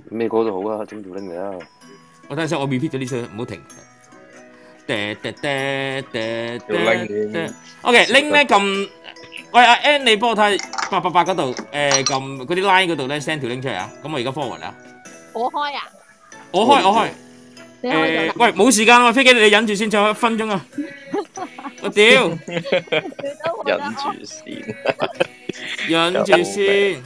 咩歌都好啊，整條 link 嚟啊！ 我睇下先，我 repeat 咗呢首，唔好停。 條 link OK，link 咧撳，喂阿 N，你幫我睇888嗰度，撳嗰啲 line 嗰度咧 send 條 link 出嚟啊！咁我而家 forward 啊。 我開啊！ 我開。喂，冇時間喎，飛機你忍住先，仲有1分鐘啊！我屌， 忍住先， 忍住先。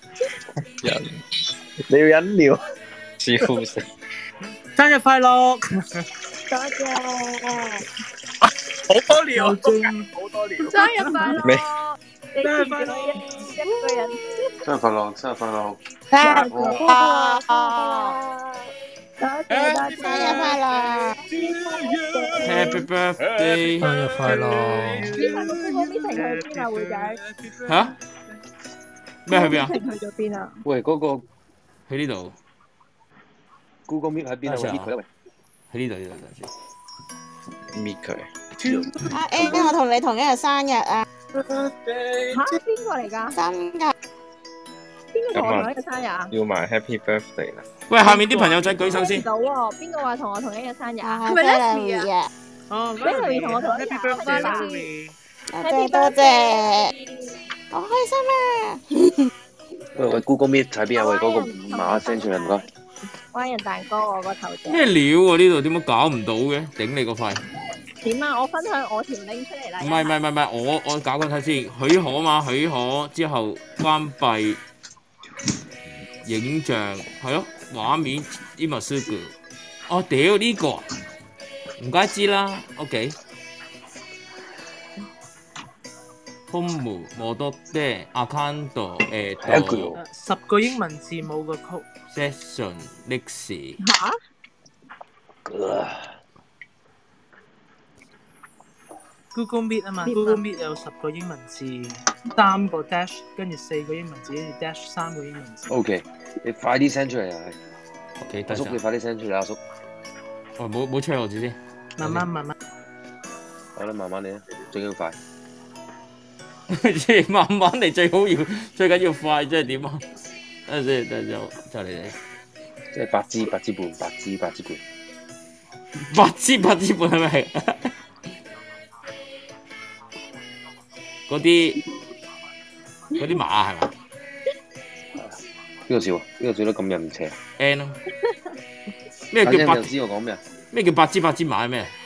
你要忍尿，笑死！ 生日快樂！ 多謝。 好多尿，好多尿。 生日快樂！ 咩？ 你見咗一個人。 生日快樂，生日快樂！ 生日快樂！多謝，生日快樂 ！Happy birthday！ 生日快樂！ 呢排個 Google Meeting 去邊啊，會長？ 嚇？咩去邊啊？ Meeting 去咗邊啊？ 喂，嗰個喺呢度。 Google Meet 喺邊啊？搣佢啦喂！ 喺呢度， 搣佢。 阿 A，我同你同一日生日啊！ 嚇？邊個嚟㗎？ 真㗎？ 邊個同我同一日生日啊？ 要埋 Happy Birthday 啦！ 喂，下面啲朋友仔舉手先。 到喎，邊個話同我同一日生日啊？ 係咪 Leslie 啊？ 哦 ，Leslie 同我同一日 Happy birthday， Leslie！多謝，好開心啊！ 喂，Google Meet 喺邊啊？喂，嗰個碼 send 出嚟唔該。 灣人蛋糕我個頭像。 咩料啊？呢度點解搞唔到嘅？頂你個肺！ 點啊？我分享我條 link 出嚟啦。 唔係，我搞緊睇先，許可嘛？許可之後關閉影像，係咯，畫面 image。哦，屌呢個，唔該知啦。OK。Home 摩多爹 account 10個英文字母個曲。 Session 歷史。 嚇 ？Google Meet 啊嘛，Google Meet 有10個英文字，3個 dash， 跟住4個英文字，跟住 dash 3個英文字。 OK，你快啲 send 出嚟啊 ！OK， 阿叔你快啲 send 出嚟，阿叔。 哦，冇催我住先。 慢慢。 好啦，慢慢嚟啊，最緊要快。 即係慢慢嚟，最緊要快，即係點啊？等陣先，就嚟。 即係8支半，8支半。 8支半係咪？嗰啲馬係嘛？ 邊個笑啊？邊個笑得咁人邪 ？N 咯。咩叫8 支？我講咩啊？ 咩叫8支馬係咩？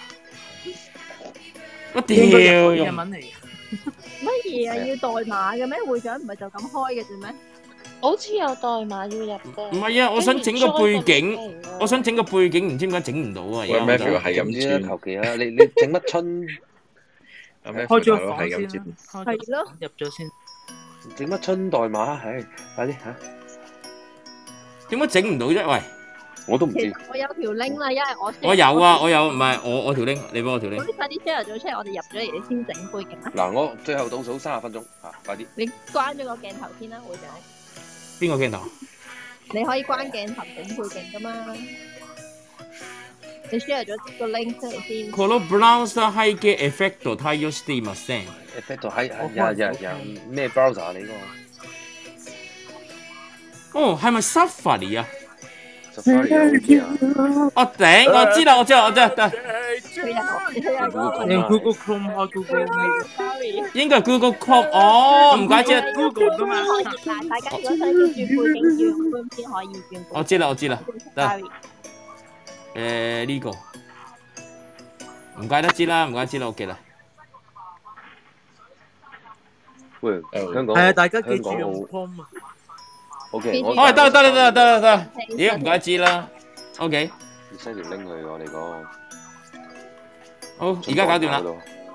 我屌！ 日文嚟嘅。 乜嘢啊？要代碼嘅咩？會長唔係就咁開嘅啫咩？ 好似有代碼要入嘅。 唔係啊，我想整個背景，唔知點解整唔到啊！而家就係咁先啦，求其啦，你整乜春？ 開咗個房先啦， 係咯， 入咗先。 整乜春代碼？唉，快啲嚇！ 點解整唔到啫？喂， 我都唔知。 我有條 link 啦，因為我有啊，唔係我條 link，你幫我條 link。 你快啲 share 咗出嚟，我哋入咗嚟，你先整背景啦。 嗱，我最後倒數30分鐘嚇，快啲。 你關咗個鏡頭先啦，會長。 邊個鏡頭？ 你可以關鏡頭整背景噶嘛？你 share 咗個 link 出嚟先。 このブラウザ背景エフェクト対応していません。 エフェクト係咩 browser 你個？ 哦，係咪 Safari 啊 ？Safari 啊！ 我頂，我知啦，得。 你用 Google Chrome 開 Google Meet。 應該係 Google Chrome， 哦，唔怪之。 Google 噶嘛。 大家如果想要轉背景，要用 Chrome 先可以轉。 我知啦，得。呢個唔怪得知啦，我記啦。 喂，香港係啊，大家記住用 Chrome 啊。 OK， 得，咦，唔怪得知啦。OK。 你 send 條 link 去我哋個。 好，而家搞掂啦。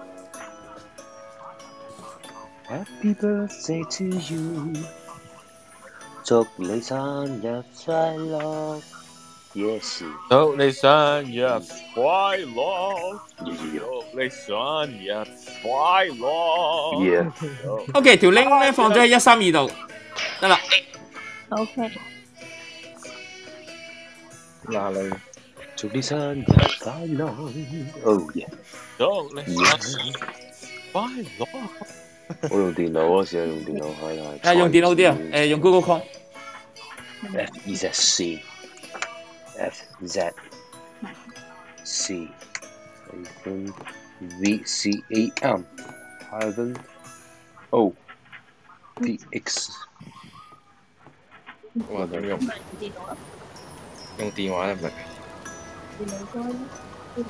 Happy birthday to you， 祝你生日快樂。Yes， 祝你生日快樂，祝你生日快樂。 OK， 條 link 咧放咗喺132度，得啦。 OK。 嗱你， 祝你生日快樂。Oh yeah， 祝你生日快樂。 我用電腦嗰時用電腦係。 用電腦啲啊，用 Google Chrome。 F-E-Z-C。 F Z C hyphen V C A M hyphen O D X。 哇，點用？ 電腦啦， 用電話得唔得？ 電腦該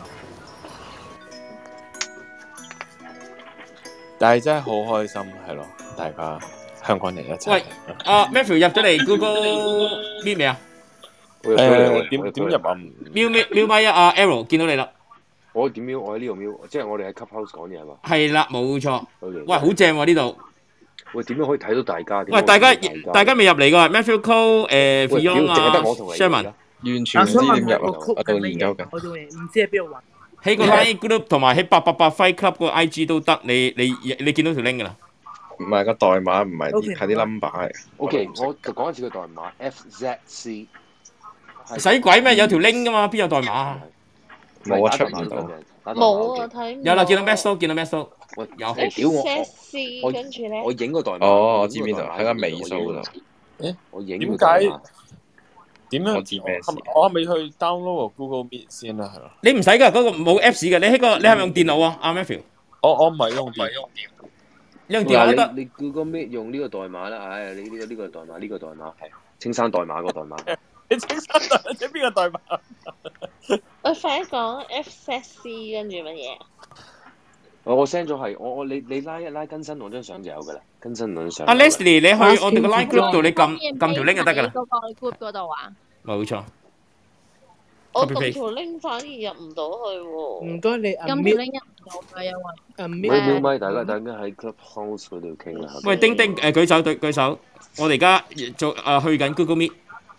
但係真係好開心，係咯，大家香港人一齊。 喂，Matthew 入咗嚟 Google Meet 未啊？ 點入啊？ 瞄咪啊，Arrow 見到你啦。 我點瞄？我喺呢度瞄，即係我哋喺 Clubhouse 講嘢係嘛？ 係啦，冇錯。 OK。 喂，好正喎呢度。 喂，點樣可以睇到大家？ 喂，大家未入嚟㗎 ，Matthew Cole、Fiona 淨係得我同你 Sherman 完全唔知點入啊！我到緊研究緊。 我仲唔知喺邊度揾。 喺個 Line Group 同埋喺888 Fight Club 個 IG 都得，你見到條 link 㗎啦。 唔係個代碼，唔係 OK， 係啲 number 嚟。 OK，我就講一次個代碼 FZC。 使鬼咩？有條 link 㗎嘛，邊有代碼啊？ 冇啊，出唔到。 冇啊，睇唔有啦，見到 Max 見到 Max 喂， 有。 屌我 SC 跟住咧， 我影個代碼。 哦，我知邊度，喺個尾數嗰度。 我影點個代解碼。 點樣？ 我知咩事我係咪去 download 個 Google Meet 先啦？係咯。 你唔使㗎，嗰個冇 Apps 嘅。你係咪用電腦啊？阿 Matthew， 我唔係用電， 你用電腦都得。 你 Google Meet 用呢個代碼啦，唉，你呢個代碼係青山代碼個代碼。 你青山代碼即係邊個代碼？ 我快講 FZC 跟住乜嘢？ 我 send 咗係你拉更新我張相就有㗎啦，更新我張相。 阿 Leslie，你去我哋個 Line Group 度，你撳條 link 就得㗎啦。 嗰個 group 嗰度啊， 冇錯。 我撳條 link 反而入唔到去喎。 唔該你咁條 unmute link 入唔到嘅，因為唔咪，大家喺 Clubhouse 嗰度傾啦。 喂，丁丁舉手，我哋而家去緊 Google Meet。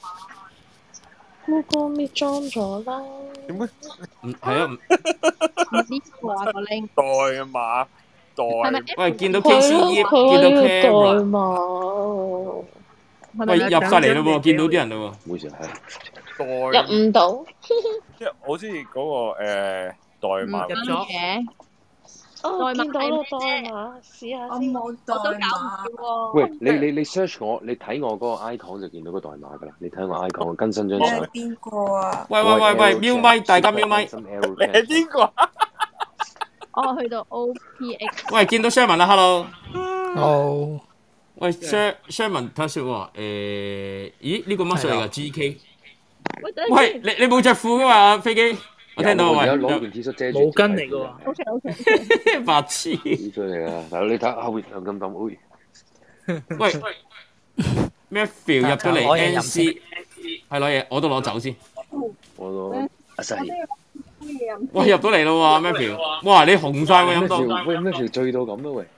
Google Meet 裝咗啦。 點解？ 係啊。 呢個啊個 link 代碼係咪？ 喂，見到係咯， KCE， 佢見到話要代 Camera。 碼， 喂，入晒嚟咯喎，見到啲人咯喎。 冇事係。 入唔到。 即係我知嗰個代碼入咗嘅， 哦， 代碼見到啦係咩代碼，試下我先。 冇代我都搞唔碼。 掂喎。 喂，你 search 我，你睇我嗰個 icon 就見到個代碼㗎啦。你睇我 icon 更新張相你係。邊個啊？ 喂，瞄咪，大家瞄咪。 你係邊個？ 我去到 OPX， 喂，見到 Sherman 啦，hello。 哦， 喂，Sherman 睇下先喎，咦呢個乜水嚟㗎？GK。 喂，等喂，你冇着褲㗎嘛？飛機，我聽到喂。 有攞件 T 恤遮住。 毛巾嚟㗎喎。 OK， 白痴。 呢出嚟㗎，大佬你睇後邊有咁抌， 喂，Matthew 入咗嚟 NC，係攞嘢，我都攞走先。 我都阿細。 喂，入到嚟咯喎，Matthew，哇，你紅晒喎飲到。 喂，Matthew 醉到咁啊喂！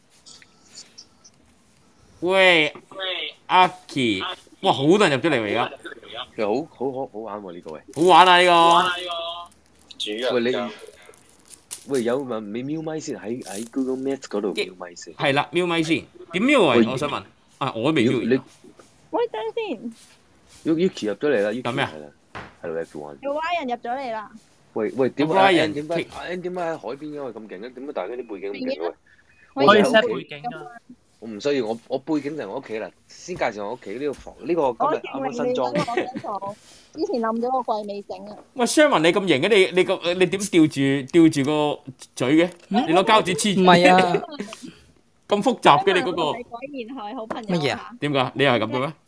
喂，阿 Key，哇，好多人入咗嚟喎而家。 其實好玩喎呢個喂。 好玩啊呢個。 喂你，喂有問你瞄咪先喺 Google Meet 嗰度瞄咪先。 係啦，瞄咪先，點瞄啊？我想問。啊，我都未瞄。 你喂，等先， Yuki 入咗嚟啦，Yuki 咁咩係啦，Hello everyone。 有 Y 人入咗嚟啦。 喂，點解 Ryan 點解喺海邊嘅喂咁勁嘅？點解大家啲背景咁勁嘅喂？ 可以我喺 set 屋企背景㗎。 我唔需要，我背景就係我屋企啦。先介紹我屋企呢個房，呢個今日啱啱新裝。 我張床之前冧咗個櫃未整啊。 喂 Sherman 你咁型嘅，你點吊住個嘴嘅？你攞膠紙黐住。 唔係啊， 咁複雜嘅你嗰個你果然係好朋友乜嘢啊？ 點解？你又係咁嘅咩？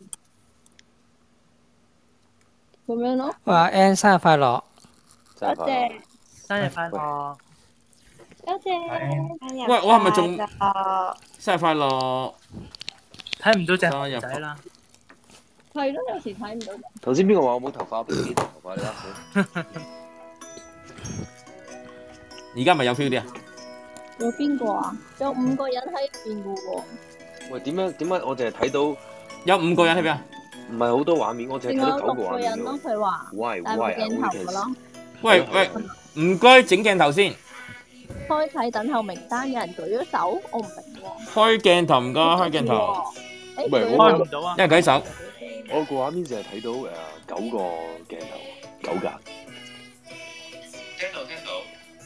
咁樣咯。 話 Ann 生日快樂， 多謝， 生日快樂！ 多謝。 喂，我係咪仲生日快樂？ 睇唔到隻熊仔啦。 係咯，有時睇唔到。 頭先邊個話我冇頭髮？邊頭髮你啦？ 而家咪有 feel 啲啊？ 有邊個啊？有5個人喺邊嘅喎。 喂，點解我淨係睇到有5個人喺邊啊？ 唔係好多畫面，我淨係睇到9個 6 畫面個人咯， 啫。 佢話。 Why 帶部鏡頭嘅咯。 喂，唔該整鏡頭先。 開啟等候名單，有人舉咗手，我唔明喎。 開鏡頭唔該，開鏡頭。 誒， 喂開唔到啊！ 一人舉手。 我個畫面淨係睇到9個鏡頭，9格。 聽到。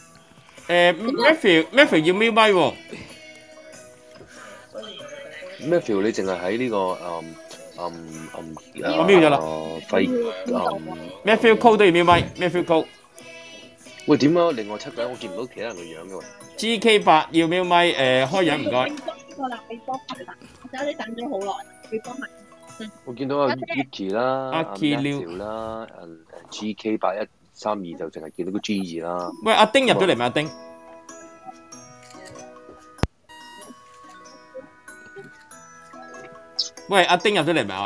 Matthew 要瞄咪喎。 Matthew 你淨係喺呢個我瞄咗啦。Matthew Cole 都要瞄咪 ，Matthew Cole。 喂，點啊？另外7個人我見唔到其他人嘅樣嘅喎。 GK8 要瞄咪，開樣唔該。 個啦，俾多排啦，我睇你等咗好耐，俾多埋。 我見到阿 Vicky 啦，阿 Aki Matthew 啦，GK8132就淨係見到個 G 字啦。 喂，阿丁入咗嚟未？阿丁。喂，阿丁入咗嚟未？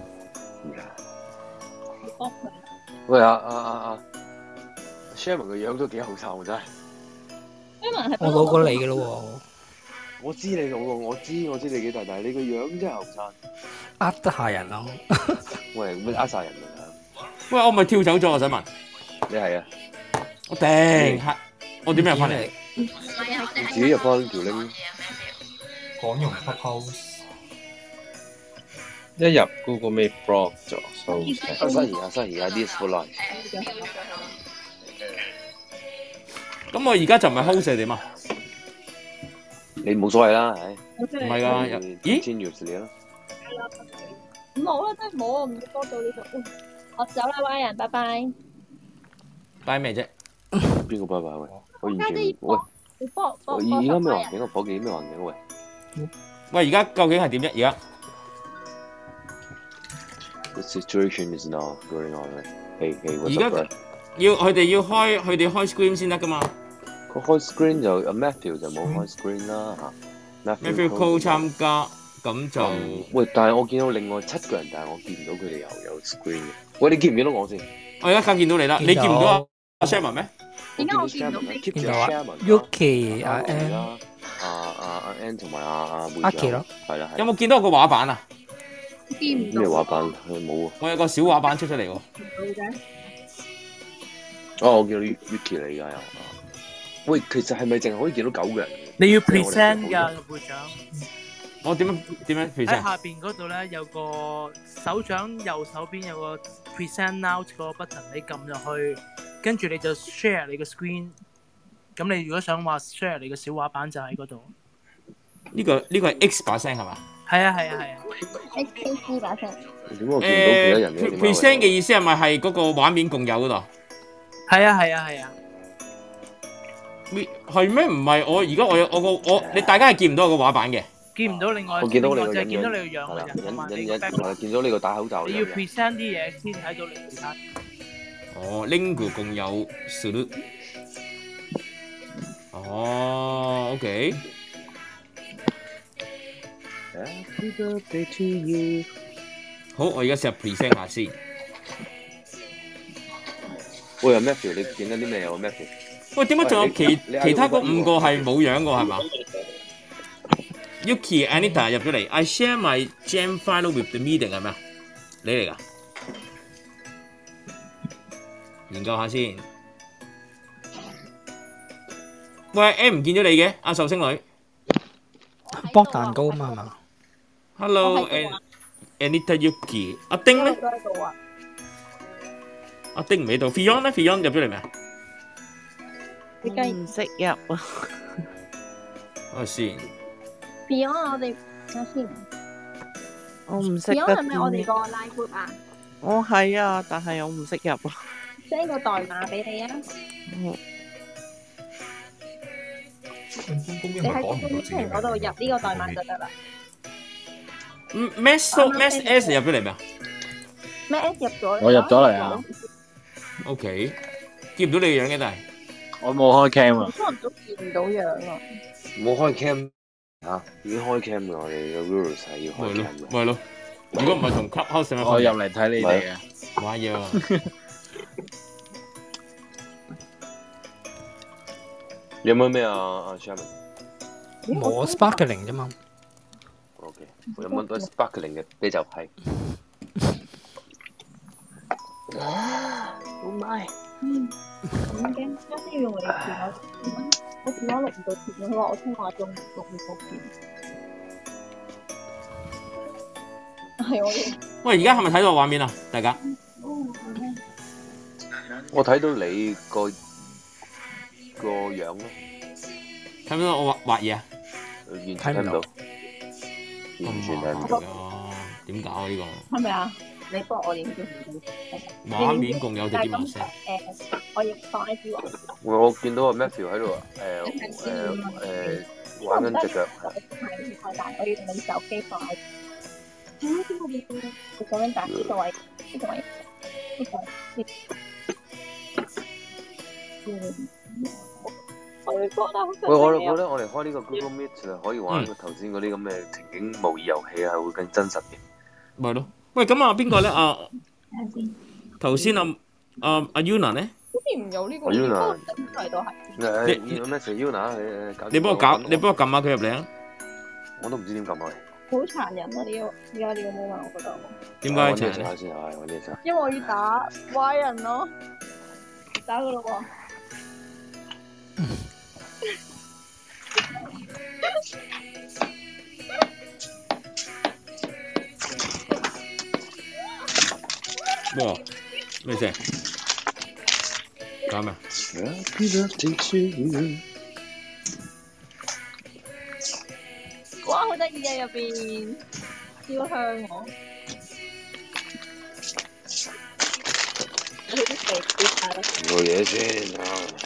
喂。 喂，阿 Sherman 個樣都幾後生喎，真係。 我老過你嘅咯喎。 我知你老過，我知你幾大，但係你個樣真係後生。 呃得下人咯。 喂，咩呃晒人啊？ 喂，我咪跳走咗，我想問。 你係啊？ 我頂，我點樣入翻嚟？ 自己入翻條 link。 講用 Clubhouse。 一入 Google Meet block 咗，收新而家 this for life。 咁我而家就唔係 host 係點啊？ 你冇所謂啦，唉。 唔係㗎，咦？ 先約你啦。 冇啦，真係冇啊！唔要多到呢度。我走啦，Y 人，拜拜。 拜咩啫？ 邊個拜拜喂？我完全喂。我而家咩環境？個伙計咩環境喂？ 喂，而家究竟係點啫？而家 The situation is now going on. Hey, what's 而 up, 家 bro? 佢哋要開 screen 先得㗎嘛？ 佢開 screen 就Matthew 就冇開 screen 啦嚇。 Matthew Cole 參加，咁就喂，但係我見到另外7個人，但係我見唔到佢哋又有 screen 嘅。喂，你見唔見到我先？ 我而家梗見到你啦，你見唔到阿 Sherman 咩？ 點解我見唔到你？ 見到啊 Yuki 阿 N 阿 N 同埋阿妹阿奇咯， 係啦。 有冇見到我個畫板啊？ 見唔到。 咩畫板？冇啊！ 我有個小畫板出咗嚟喎。 哦，我見到 Vicky 嚟㗎又。喂，其實係咪淨係可以見到9個人？ 你要 present 㗎個會長。 我點樣 present？ 喺下邊嗰度咧有個手掌右手邊有個 present now 個 button， 你撳入去，跟住你就 share 你個 screen。咁你如果想話 share 你個小畫板就喺嗰度。 呢個係 X 把聲係嘛？ 係啊。 XKC 把聲。 點解我見唔到其他人嘅 ？present 嘅意思係咪係嗰個畫面共有嗰度？ 係啊。 係咩？唔係我而家我你大家係見唔到我個畫板嘅。 見唔到另外， 我見到你個就係見到你個樣嘅啫。同埋你個 background 見到你個戴口罩。 你要 present 啲嘢先睇到你其他。 哦 ，link 共有 salute。哦 ，OK。 Happy birthday to you。 好，我而家試下 present 下先。 喂，Matthew，你見到啲咩啊？Matthew。 喂，點解仲有其他嗰5個係冇樣嘅係嘛？Yuki、Anita 入咗嚟。I share my jam file with the meeting 係咩啊？你嚟㗎？研究下先。喂 ，M 唔見咗你嘅，阿壽星女。 剝蛋糕嘛係嘛 ？Hello，Anita Yuki。阿丁咧？阿丁唔喺度。Fion 咧 ？Fion 入咗嚟未啊？ 我唔識入啊！ 我先。 Beyond 我哋睇下先。 我唔識得。 Beyond 係咪我哋個 live group 啊？ 我係啊，但係我唔識入啊。 send 個代碼俾你啊！你喺公屏嗰度入呢個代碼就得啦。 Mass S 入咗嚟未啊？ 咩 S 入咗？ 我入咗嚟啊。 OK， 見唔到你嘅樣嘅，但係我冇開 cam 啊。 可能都見唔到樣啊。 冇開 cam 嚇，已經開 cam 㗎，我哋個 rules 係要開 cam 嘅。 咪咯，如果唔係同 Clubhouse 有乜分別？ 我入嚟睇你哋啊。 玩嘢啊！ 有冇咩啊？Sherman？ 冇 sparkling 啫嘛。 OK， 有冇多 sparkling 嘅啤酒係？ 好咪。咁驚，啱先要用你電話，我電話錄唔到片，佢話我通話中錄唔到片。係我要。 喂，而家係咪睇到畫面啊？大家？ 我睇到你個樣咯。 睇唔到我畫嘢啊？ 完全睇唔到。完全睇唔到。 點搞啊呢個？ 係咪啊？你幫我影咗畫面共有定啲麻聲？ 我影放 I G 喎。 我見到阿 Matthew 喺度玩緊隻腳。 係太大，我要用你手機放 I G。你咁樣打呢個位，呢個位，呢個位。我會覺得好喂，我覺得我哋開呢個 Google Meet 就可以玩頭先嗰啲咁嘅情景模擬遊戲係會更真實嘅。 咪咯。喂，咁啊邊個咧？頭先阿 Yuna 咧？ 好似唔有呢個。 Yuna 都係。 你有咩事 Yuna？ 你幫我撳下佢入嚟啊！ 我都唔知點撳啊！ 好殘忍啊！呢個而家呢個 moment， 我覺得。 點解殘忍？ 先係揾嘢先。 因為我要打壞人咯，打佢咯喎。 哇！咩事？搞咩？ 哇！好得意啊！入邊燒香喎。 做嘢先啊！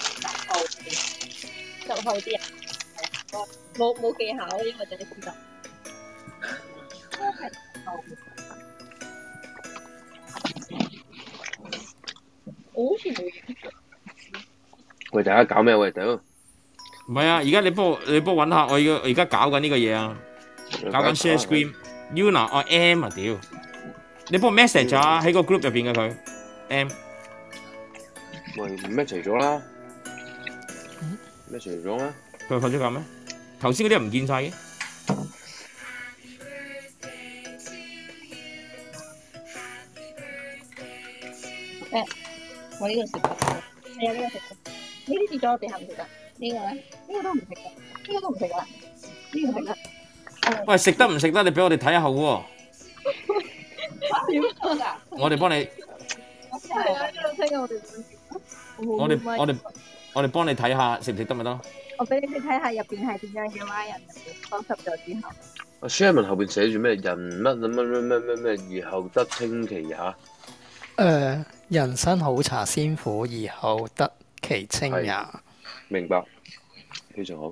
就去啲人，冇技巧，因為就係試得。我好似冇影。 喂，大家搞咩？喂，屌！ 唔係啊，而家你幫我揾下，我而家搞緊呢個嘢啊，搞緊 share screen。Yuna， 我 M 啊屌！你幫我 message 啊，喺個 group 入邊嘅佢 M。 喂 ，message 咗啦，message 咗啦。 佢瞓咗覺咩？頭先嗰啲唔見晒嘅。 我呢個食得，係啊呢個食得。呢啲跌咗落地下唔食得，呢個咧，呢個都唔食得，呢個都唔食得，呢個食得。 喂，食得唔食得？你俾我哋睇下好喎。 點啊？ 我哋幫你。 係啊，呢度聽我哋。 我哋幫你睇下食唔食得咪得咯。 我俾你哋睇下入邊係點樣嘅蛙人，收拾咗之後。 阿 Sherman 後邊寫住咩？人乜，而後得清其也。 人生好茶先苦，而後得其清也。 明白，非常好。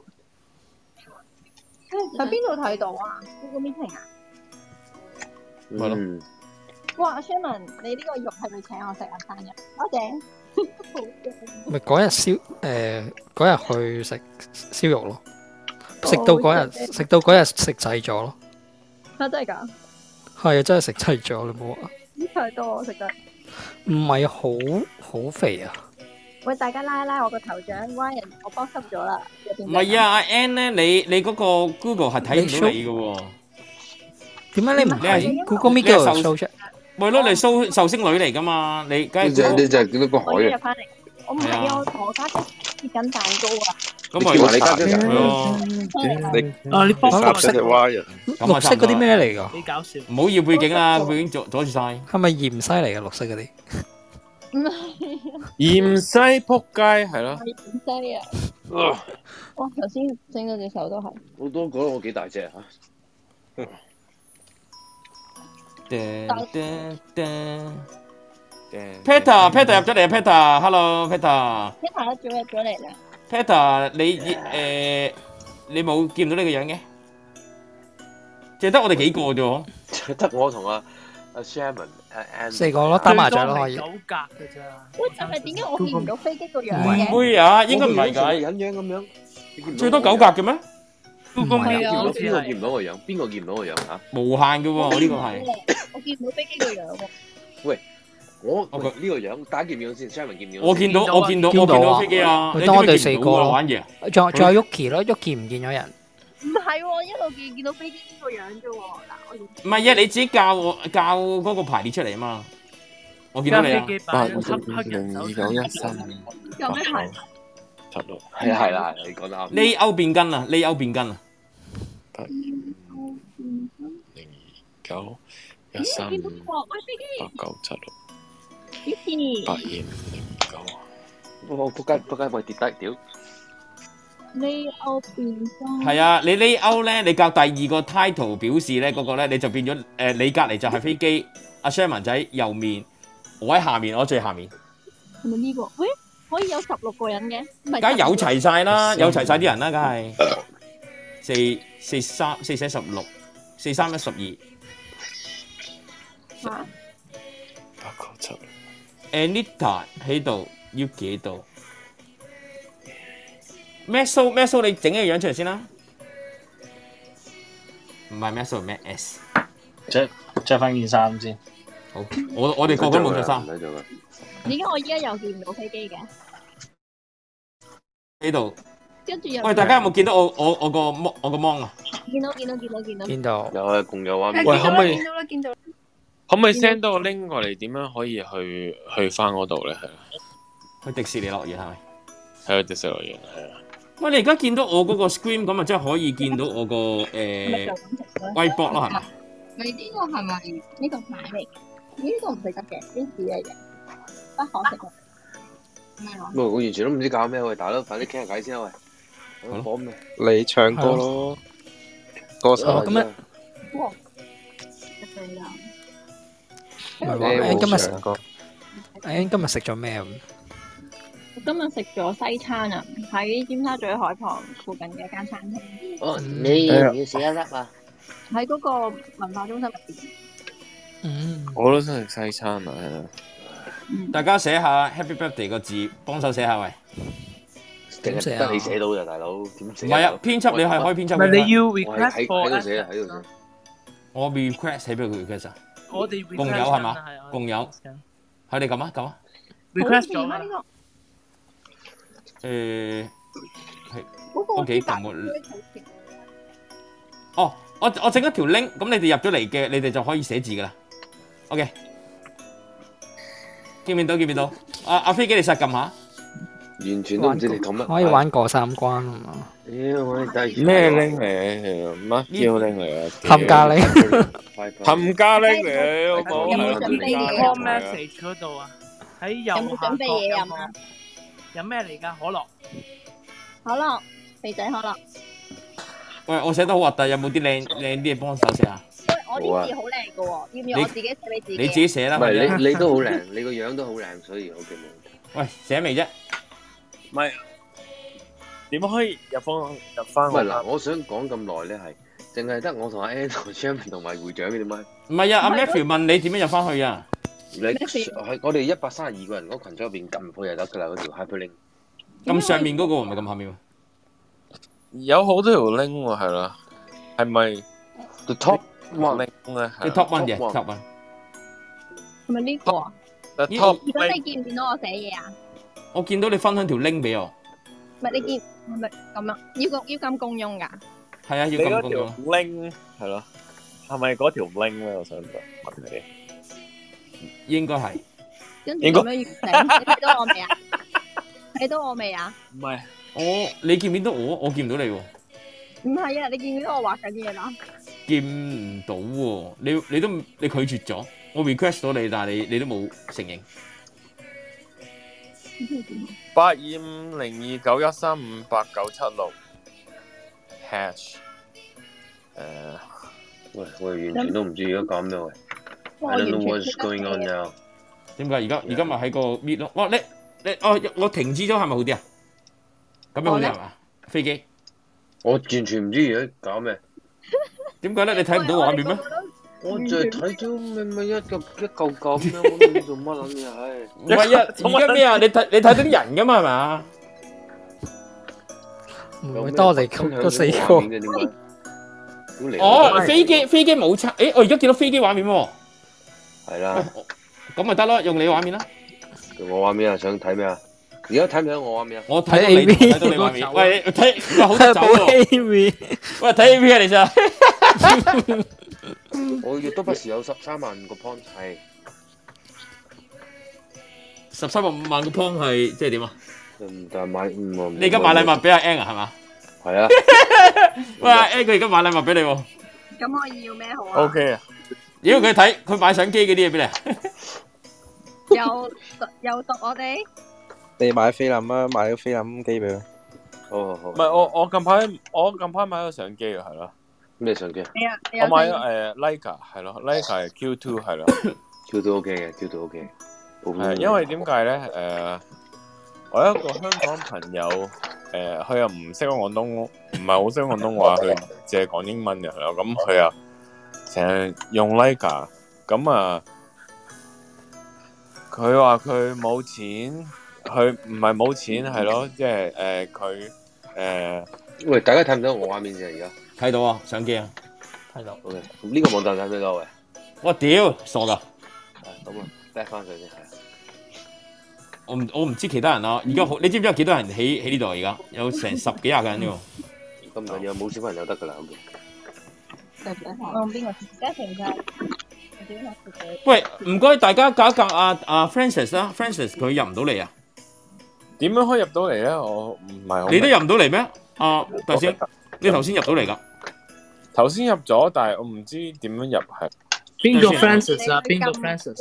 喺邊度睇到啊 ？Google Meeting 啊？ 咪咯。 哇 ，Sherman， 你呢個肉係咪請我食啊？生日，多謝。 咪嗰日去食燒肉咯，食到嗰日食滯咗咯。 啊，真係㗎？ 係啊，真係食滯咗，你冇話？ 太多我食得。 唔係好肥啊！ 喂，大家拉一拉我個頭像，蛙人我幫濕咗啦。 唔係啊，阿 N 咧，你嗰個 Google 係睇唔到你嘅喎。 點解你唔係 Google Meet 嗰度 show 出？ 咪咯，你壽星女嚟㗎嘛？你梗係你就係見到個海啊！ 我唔係啊，我同我家姐切緊蛋糕啊！ 咁咪話你家姐係咯。你幫綠色嘅蛙人， 綠色嗰啲咩嚟㗎？ 幾搞笑！ 唔好要背景啦，背景阻住晒。 係咪芫茜嚟㗎？綠色嗰啲？ 唔係芫茜仆街係咯。 芫茜啊！哇！頭先整嗰隻手都係。 好多覺得我幾大隻嚇。 Peter 入咗嚟啊 Peter，Hello Peter。 Peter 早入咗嚟啦。 Peter 你冇見唔到呢個樣嘅？淨係得我哋幾個啫喎。 得我同阿 Sherman 四個咯，打麻雀咯可以。 9格嘅咋？ 喂，但係點解我見唔到飛機個樣嘅？ 唔會啊，應該唔係㗎。 隱樣咁樣， 最多9格嘅咩？ 邊個見唔到個樣？邊個見唔到個樣嚇？ 無限嘅喎，我呢個係。 我見唔到飛機個樣喎。 喂，我呢個樣，大家見唔見到先 ？Sherman 見唔見到？ 我見到飛機啊！ 當我哋四個咯， 玩嘢。 仲有 Yuki 咯，Yuki 唔見咗人。 唔係喎，一路見到飛機呢個樣啫喎。嗱， 唔係啊，你自己教嗰個排列出嚟啊嘛。我見到你啊。 802913893。 有咩排？ 係啦，你講得啱。 呢歐變根啊，呢歐變根啊。 8029138938976。 咦？ 我仆街喂跌低屌！ layout 變裝係啊，你 layout 咧，你較第二個 title 表示咧，嗰個咧你就變咗你隔離就係飛機，阿 Sherman 仔右面，我喺下面，我最下面。 係咪呢個？喂，可以有16個人嘅？梗梗係有齊晒啦，有齊晒啲人啦，梗係4×16，4×3=12。 嚇 8×7。 Anita 喺度 ，Yuki 喺度。Maxo 你整個樣出嚟先啦。唔係 Maxo 咩 S？ 着翻件衫先。 好，我哋個個冇着衫。 點解我依家又見唔到飛機嘅？ 呢度。 跟住又喂，大家有冇見到我個 mon 啊？ 見到。 見到。 有啊，共有畫面。 喂，可唔可以？ 見到。 可唔可以 send 多個 link 過嚟？點樣可以去翻嗰度咧？係去迪士尼樂園係咪？ 係去迪士尼樂園係啊。 喂，你而家見到我嗰個 screen 咁啊，即係可以見到我個whiteboard 咯，係咪？ 你呢個係咪呢個牌嚟？呢個唔食得嘅，呢啲嚟嘅，不可食嘅。咩話？ 喂，我完全都唔知搞咩喂，大佬，快啲傾下偈先啊喂。講咩？ 你唱歌咯，歌手咁樣。 哇！ 唔係喎，今日食咗咩啊？ 我今日食咗西餐啊，喺尖沙咀海旁附近嘅一間餐廳。 哦，你要唔要食一粒啊？ 喺嗰個文化中心入邊。 我都想食西餐啊，係啊。 大家寫下 Happy Birthday 個字，幫手寫下喂。 點寫啊？得你寫到咋，大佬點寫？ 唔係啊，編輯你係開編輯。 唔係你要 request 喺度寫，喺度寫。 我 request 喺邊度 request 啊？ 我哋共有係嘛？共有。係你撳啊撳啊。 request 咗啦。 係都幾撳喎。哦，我整一條 link，咁你哋入咗嚟嘅，你哋就可以寫字噶啦。OK。見唔見到？阿飛機你實撳下。 完全都唔知你講乜。 可以玩過3關啊嘛。 咩 link 嚟？乜叫 link 嚟啊？ 冚家 link。 冚家 link 嚟，我講。 有冇準備嘢 ？call message 嗰度啊，喺右下角。 有冇準備嘢飲啊？ 飲咩嚟㗎？可樂。 可樂，肥仔可樂。 喂，我寫得好核突，有冇啲靚啲嘢幫手寫下？ 喂，我啲字好靚㗎喎，要唔要我自己寫俾自己？ 你自己寫啦。 唔係你都好靚，你個樣都好靚，所以 OK 冇問題。 喂，寫未啫？ 唔係點可以入翻？ 唔係嗱，我想講咁耐咧，係淨係得我同阿 Ann 同 Champion 同埋會長嘅點解？ 唔係啊，阿 Matthew 問你點樣入翻去啊？ 你係我哋132個人嗰群組入邊撳入去就得㗎啦，嗰條 hyperlink。 咁上面嗰個唔係咁下面喎。 有好多條 link 喎，係啦，係咪 the top one 咧？ 係 top one 嘅 top one。 係咪呢個啊？ the top。 咁你見唔見到我寫嘢啊？ 我見到你分享條 link 俾我。 唔係你見係咪咁啊？要咁共用㗎？ 係啊，要咁共用。 你嗰條 link 係咯，係咪嗰條 link 咧？我想問你。 應該係。 跟住咁樣完成，你睇到我未啊？睇到我未啊？ 唔係， 你見唔見到我？我見唔到你喎。 唔係啊，你見唔見到我畫緊嘢啦？ 見唔到喎，你拒絕咗，我 request 咗你，但係你都冇承認。 8250291358976 hash 喂，我完全都唔知而家講咩喂。I don't know what's going on now。 點解而家咪喺個 meet 咯？哇！我停止咗係咪好啲啊？咁樣好啲係嘛？飛機， 我完全唔知而家搞咩。 點解咧？你睇唔到畫面咩？ 我就係睇咗咪一嚿咁樣，我都唔知做乜撚嘢，唉！ 唔係啊，而家咩啊？你睇到啲人㗎嘛係嘛？ 唔會多我哋嗰4個。 哦，飛機冇測，誒，我而家見到飛機畫面喎。 係啦。 咁咪得咯，用你畫面啦。 我畫面啊，想睇咩啊？而家睇唔睇我畫面啊？ 我睇到你畫面。喂，睇好得走喎。喂，睇 A V 啊，你咋？ 我亦都不時有13萬個 point 係。 13萬個 point 係即係點啊？ 但係買你而家買禮物俾阿 Ann 啊，係嘛？ 係啊。 喂，Ann 佢而家買禮物俾你喎。 咁我要咩好啊 ？OK 啊。 如果佢買相機嗰啲嘢俾你。 又讀我哋。 你買菲林啊，買個菲林機俾佢。 好。 唔係我近排買咗相機啊，係咯。 咩相機？ 我買咗Leica 係咯 ，Leica 係 Q2 係咯。 Q2 OK 嘅 ，Q2 OK。 係因為點解咧？我有一個香港朋友，佢又唔識講廣東，唔係好識廣東話，佢淨係講英文嘅係咯。咁佢又成日用 Leica，咁啊，佢話佢冇錢，佢唔係冇錢係咯，即係佢喂，大家睇唔到我畫面啫，而家睇到啊，相機啊， 睇到。 OK，咁呢個網站睇唔睇到喂？ 我屌，傻噶！ 咁啊 back 翻佢先係。 我唔知其他人啊，而家你知唔知有幾多人喺呢度而家？有成10幾20個人呢喎。 咁唔緊要，冇小朋友得㗎啦。 我用邊個？而家成日。 喂，唔該大家搞一搞阿 Francis 啦 ，Francis 佢入唔到嚟啊？ 點樣可以入到嚟咧？我唔係好。 你都入唔到嚟咩？頭先你頭先入到嚟㗎。 頭先入咗，但係我唔知點樣入係。 邊個 Francis 啊？邊個 Francis？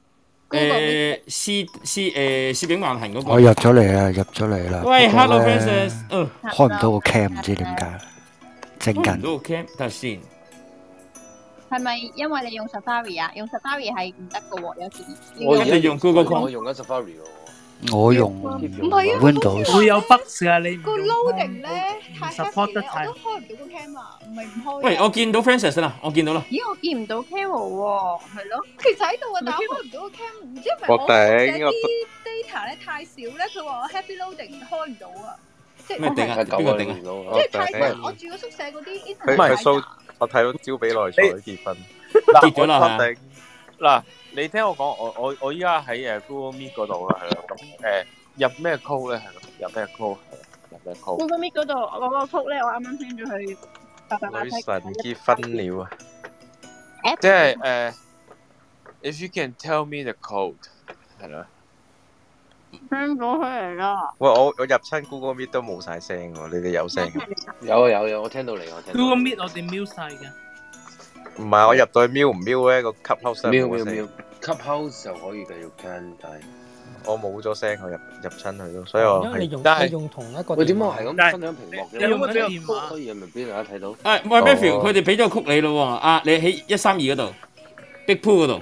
攝影橫行嗰個。 我入咗嚟啦，入咗嚟啦。 喂 ，Hello Francis， 開唔到個 cam，唔知點解。整緊。 開唔到個 cam，等下先。 係咪因為你用 Safari 啊？用 Safari 係唔得㗎喎，有時。 我哋用 Google Chrome， 我用緊 Safari 喎。 我用唔係啊 Windows。 會有 bug 啊！你個 loading 咧太 support 得我都開唔到個 cam 啊，唔係唔開。 喂，我見到 Francis 啦，我見到啦。 咦，我見唔到 cam 喎，係咯，其實喺度啊，但我開唔到個 cam，唔知係咪我頂啲 data 咧太少咧？佢話我 heavy loading 開唔到啊，即係咩頂啊？邊個頂啊？ 即係太少，我住個宿舍嗰啲 internet 唔係太大。 我睇到招比內賽結婚， 結咗啦係啊。 嗱，你聽我講，我依家喺Google Meet 嗰度啦，係咯，咁入咩 code 咧？係咯，入咩 code？入咩 code？ Google Meet 嗰度我嗰個 code 咧，我啱啱 send 咗去女神結婚了啊！即係if you can tell me the code， 係咯。 send 咗出嚟啦。 喂，我入親 Google Meet 都冇晒聲喎，你哋有聲嘅？ 有，我聽到你，我聽到。 Google Meet 我哋 mute 晒嘅。 唔係，我入到去瞄唔瞄咧？個 Clubhouse 瞄 Clubhouse 就可以繼續聽，但係我冇咗聲，我入親去咯，所以我因為你用同一個。 喂，點解我係咁分享屏幕嘅？ 你用乜電話？ 可以咪俾大家睇到？ 喂 Matthew，佢哋俾咗曲你咯喎，你喺132嗰度 Big Pool 嗰度，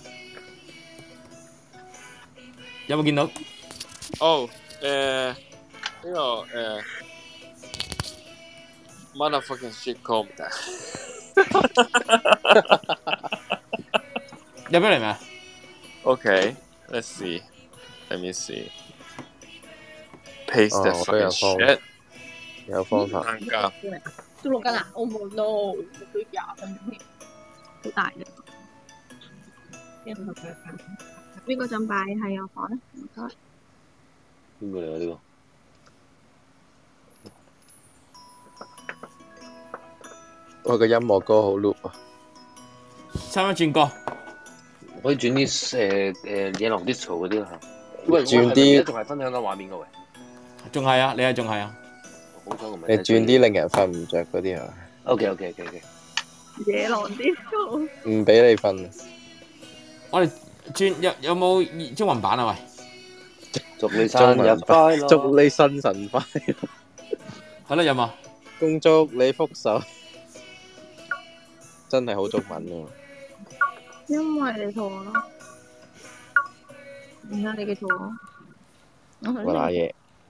有冇見到？ 哦，呢個motherfucking shit code 入咗嚟未 ？Okay，let's see，let me see，paste the fucking shit，有方法。 都錄緊啊！我冇 no， 錄到20分鐘添，好大嘅。邊個想擺喺我房咧？唔該。 邊個嚟啊？呢個？ 我個音樂歌好 loop 啊！ 差唔多轉歌， 可以轉啲野狼 disco 嗰啲啦嚇。喂， 轉啲仲係分享緊畫面嘅喂。 仲係啊，你仲係啊。 好彩我唔係。 你轉啲令人瞓唔着嗰啲啊 OK。 野狼 disco。 唔俾你瞓。 我哋轉有冇中文版啊？喂， 祝你生日快樂， 祝你新神快樂。 係啦，有冇？ 恭祝你福壽。真係好中文喎。 因為你同我咯，而家你嘅同我。 我拿嘢。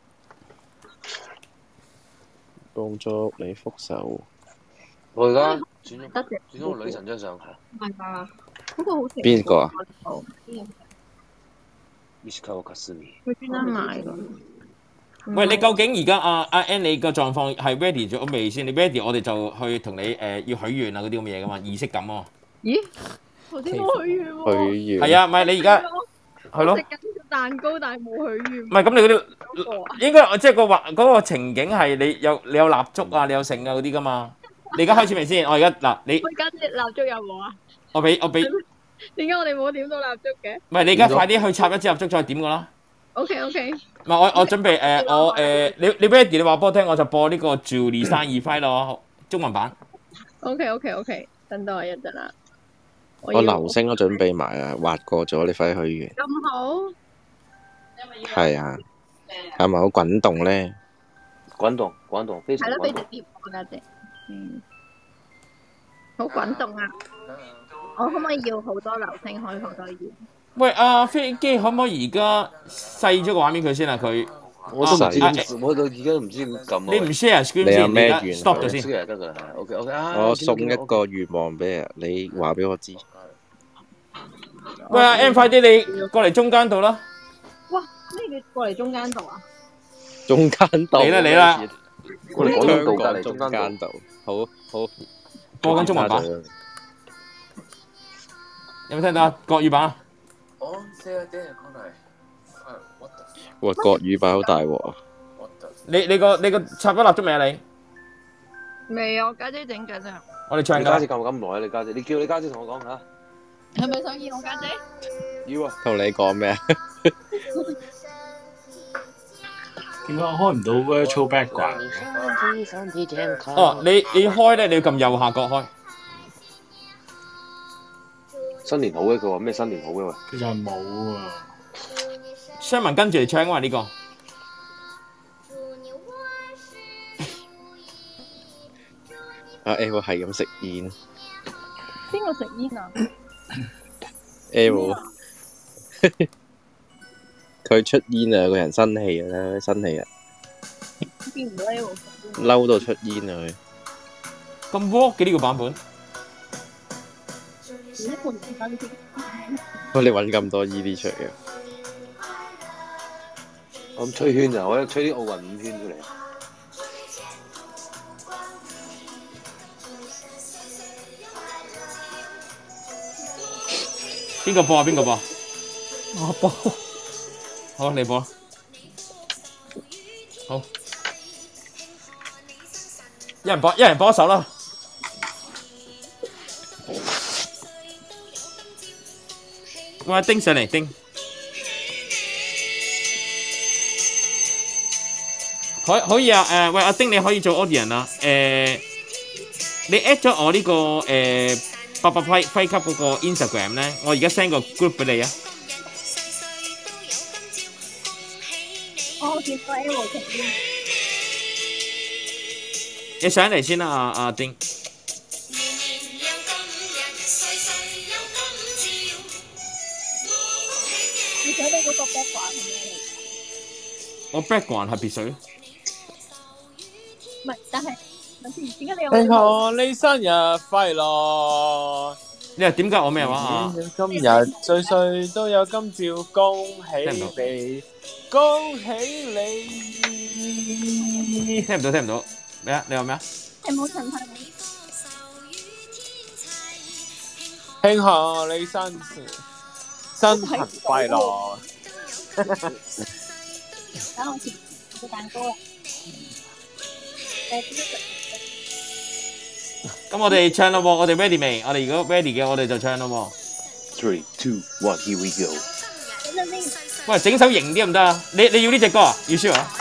恭祝你福壽。 我而家轉咗個女神張相係。 係啊，嗰個好食。 邊個啊 ？Miska Kasumi。 佢專登買㗎。 喂，你究竟而家阿 Ann 你個狀況係 ready 咗未先？你 ready， 我哋就去同你要許願啊嗰啲咁嘅嘢噶嘛，儀式感啊。咦？ 頭先冇許願喎。 許願。 係啊，唔係你而家係咯。 食緊個蛋糕，但係冇許願。 唔係咁，你嗰啲應該即係嗰個情景係你有蠟燭啊，你有剩啊嗰啲噶嘛。你而家開始未先？我而家嗱你。 我而家啲蠟燭有冇啊？ 我俾。 點解我哋冇點到蠟燭嘅？ 唔係你而家快啲去插一支蠟燭再點噶啦。 OK。 唔係我準備你 ready 你話俾我聽，我就播呢個 Julie 生日快樂中文版。 OK，等到我一陣啦。 我流星都準備埋啊，畫過咗，你快啲許願。 咁好。 係啊，係咪好滾動咧？ 滾動，非常係咯，俾滾動。 隻碟我家姐。好滾動啊！我可唔可以要好多流星，可以好多嘢？ 喂，飛機可唔可以而家細咗個畫面佢先啊？佢我都唔知點，我到而家都唔知點撳啊。 你唔 share screen 你有先， 咩願 stop 咗識先。 就得㗎啦。OK 啊。 我送一個願望俾你，你話俾我知。 喂，M 快啲你過嚟中間度啦。 哇！咩叫過嚟中間度啊？ 中間度嚟啦！ 我哋廣東道隔離中間度，好播緊中文版。有冇聽到啊？國語版啊？ 哇，國語版好大鑊啊！ 你個插咗蠟燭未啊？你？ 未啊，我家姐整緊啊。 我哋唱㗎。 你家姐咁耐啊？你家姐，你叫你家姐同我講下。 係咪想見我家姐？ 要啊。 同你講咩啊？ 點解我開唔到 virtual background？ 哦，你開咧，你要撳右下角開。 新年好嘅，佢話咩新年好嘅喂？ 其實係冇啊。 雙文跟住嚟唱啊嘛呢個。 阿 L 係咁食煙。 邊個食煙啊 ？L 佢出煙啊！個人生氣啊！生氣啊！ 見唔到 L 嬲到出煙啊！ 佢咁 work 嘅呢個版本。 你揾咁多依啲出嘅。 我咁吹圈啊！我吹啲奧運5圈出嚟。 邊個播啊？邊個播？ 我播。 好，你播。好。一人播一首啦。喂，丁上嚟，丁。可以啊，喂，阿丁你可以做 audience 啊，你 at 咗我呢個800輝級嗰個 Instagram 咧，我而家 send 個 group 俾你啊。 我見到 L 食煙。 你上嚟先啦，阿丁。 你睇到嗰個 background 係咩嚟？ 我 background 係別水。 唔係，但係點解你有？ 祝你生日快樂！ 你話點解我咩話啊？ 今日歲歲都有今朝，恭喜你，恭喜你！ 聽唔到，聽唔到。咩啊？你話咩啊？ 係冇陳太。 慶賀你生日快樂！ 等我切個蛋糕啦。 咁我哋唱咯喎，我哋 ready 未？我哋如果 ready 嘅，我哋就唱咯喎。3, 2, 1, here we go。 喂，整首型啲得唔得啊？你要呢隻歌啊？要 sure 啊？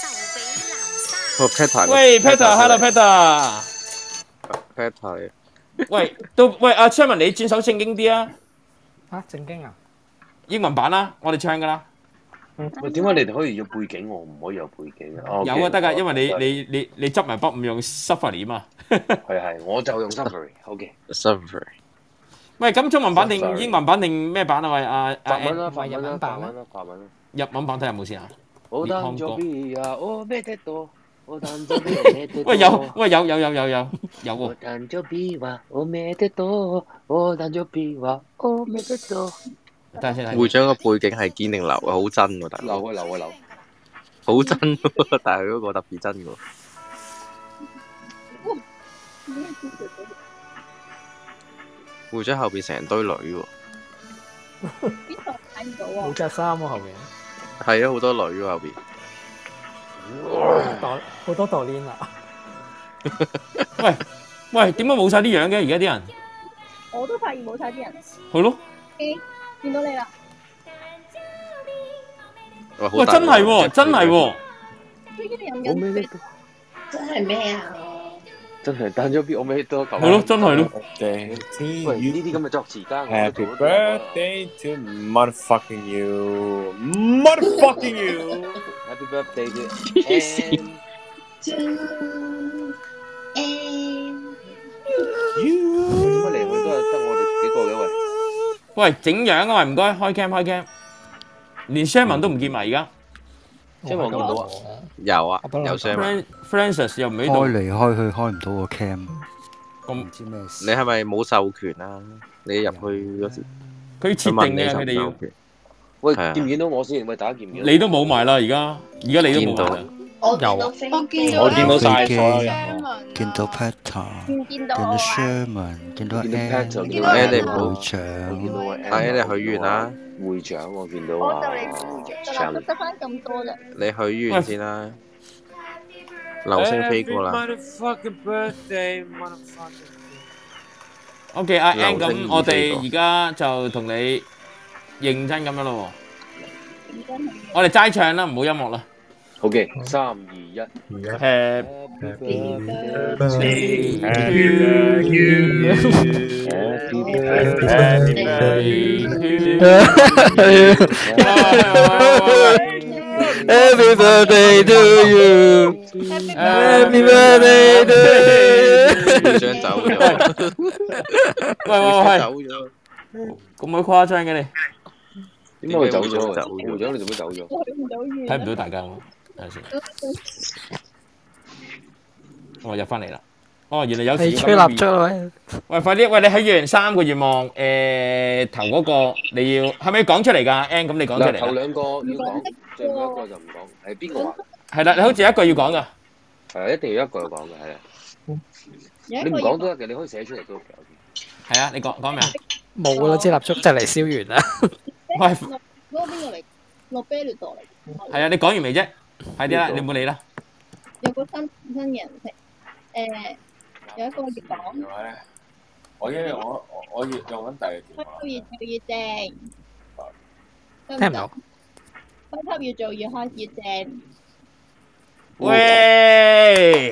喂 ，Peter，hello Peter。 Peter。 喂，阿 Sherman，你轉首正經啲啊？ 嚇，正經啊？ 英文版啦，我哋唱噶啦。 喂，點解你哋可以有背景，我唔可以有背景啊？ 有啊，得噶，因為你執埋筆唔用 Safari 嘛。 係，我就用 Safari。OK。 Safari。 喂，咁中文版定英文版定咩版啊？喂， 法文啦， 日文版咩？ 法文。 日文版睇下有冇先啊？ 我誕咗 B 啊，我咩得多？我誕咗 B 咩得多？ 喂，有喎。 我誕咗 B 話我咩得多？我誕咗 B 話我咩得多？ 會長個背景係堅定流啊，好真喎，大佬。 流。 好真喎，但係佢嗰個特別真喎。會長後邊成堆女喎。 邊度睇唔到啊？ 冇着衫喎後邊。 係啊，好多女喎後邊。 好多代練啊！ 喂，點解冇晒啲樣嘅？而家啲人。 我都發現冇晒啲人。 係咯。 見到你啦！ 喂，真係喎，真係喎！ 我咩得多？ 真係咩啊？ 真係誕咗 B，我咩得多？ 係咯，真係咯。 喂，呢啲咁嘅作詞家， Happy birthday to motherfucking you，motherfucking you。 Happy birthday to 點解嚟去都係得我哋幾個嘅喂？ 喂，整樣啊喂，唔該，開 cam，連 Sherman 都唔見埋而家。 Sherman 見唔到啊？ 有啊，有 Francis 又唔喺度。 開嚟開去開唔到個 cam， 咁唔知咩事。 你係咪冇授權啊？你入去嗰時， 佢設定嘅，佢哋要。 喂，見唔見到我先？喂，大家見唔見？ 你都冇埋啦，而家你都冇埋啦。 我見到晒所有人。 見到 Peter，見見到到 Sherman，見到 Ann， 見到 Ann 你唔好會長， 阿 Ann 你許願啦， 會長我見到我啊， 就嚟得翻咁多啦。 你許願先啦，流星飛過啦。 OK， 阿 Ann 咁，我哋而家就同你認真咁樣咯喎，我哋齋唱啦，唔好音樂啦。 好嘅，3、2、1。Happy birthday to you. Happy birthday to you. Happy birthday to you. 會長走咗。 喂， 走咗。 咁鬼誇張嘅你？ 點解佢走咗？會長你做咩走咗？ 睇唔到大家喎。等陣先，我入翻嚟啦。哦，原來有時吹蠟燭啦喂！ 喂，快啲！喂，你許完3個願望，頭嗰個你要係咪要講出嚟㗎 ？Ann，咁你講出嚟。 頭兩個要講，最後一個就唔講。係邊個話？ 係啦，你好似有一個要講㗎。 係啊，一定要一個要講嘅，係啊。你唔講都得嘅，你可以寫出嚟都得嘅。 係啊，你講咩啊？ 冇啦，支蠟燭就嚟燒完啦。 喂， 嗰個邊個嚟？落啤烈度嚟。 係啊，你講完未啫？快啲啦，你唔好理啦。 有個新嘅人食，有一個要講。 我要用緊第二電話。 越正。 聽唔到。 開級越做越開越正。 喂！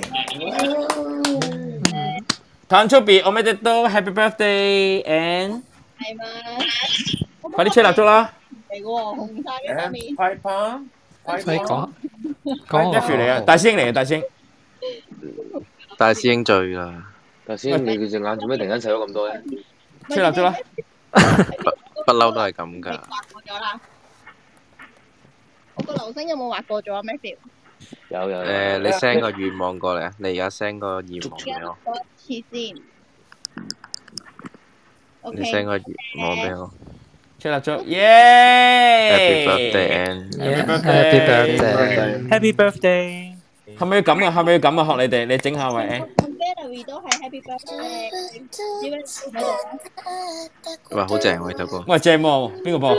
誕生日おめでとう ，Happy birthday Ann。 係嘛？ 快啲吹蠟燭啦！ 嚟喎，紅晒嘅面。 派棒。 快講。 Jeff 嚟啊，大師兄嚟啊，大師兄。 大師兄醉啦。 大師兄，你隻眼做咩突然間細咗咁多咧？ 吹蠟燭啦！ 不嬲都係咁㗎。 畫過咗啦。我個流星有冇畫過咗啊 Matthew？ 有。 你 send 個願望過嚟啊！你而家 send 個願望俾我。 講一次先。 你 send 個願望俾我。 吹蠟燭，耶 ！Happy birthday Ann！Happy birthday！Happy birthday！ 係咪要咁啊？係咪要咁啊？學你哋，你整下喂 Ann。 Valerie 都係 Happy birthday！ 哇，好正喎呢首歌。 喂，正喎，邊個播？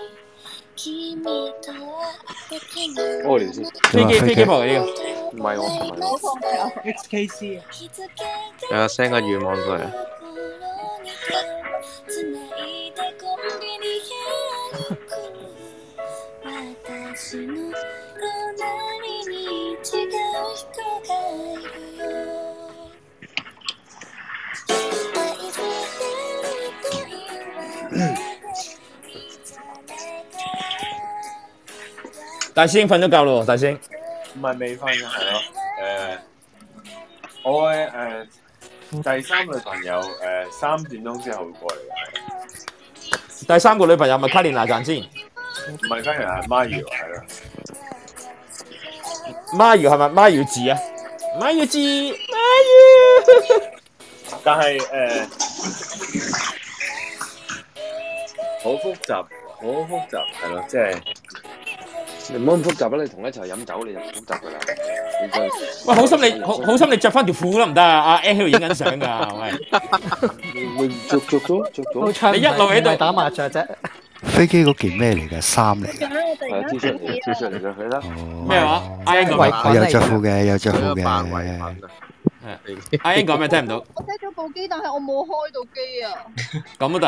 屙尿先。 飛機播嘅呢個。 唔係我琴日。 XKC。 有 send 個願望過嚟。 大師兄瞓咗覺咯，大師兄。 唔係未瞓嘅，係咯。我嘅第三女朋友3點鐘之後會過嚟嘅。 第三個女朋友咪卡蓮娜賺先。 唔係卡蓮娜，係媽瑤係咯。 媽瑤係咪媽瑤字啊？媽瑤字，媽瑤。 但係好複雜係咯，即係。 你唔好咁複雜啦！你同佢一齊飲酒你就唔複雜噶啦。 喂，好心你着翻條褲得唔得啊？阿 Ann 喺度影緊相㗎，喂。 着咗。 你一路喺度打麻雀啫。 飛機嗰件咩嚟嘅？衫嚟嘅。 係啊，T 恤嚟嘅，佢啦。 咩話？阿 Ann 講咩？有着褲嘅，有着褲嘅。 阿 Ann 講咩？聽唔到。 我熄咗部機，但係我冇開到機啊。 咁都得。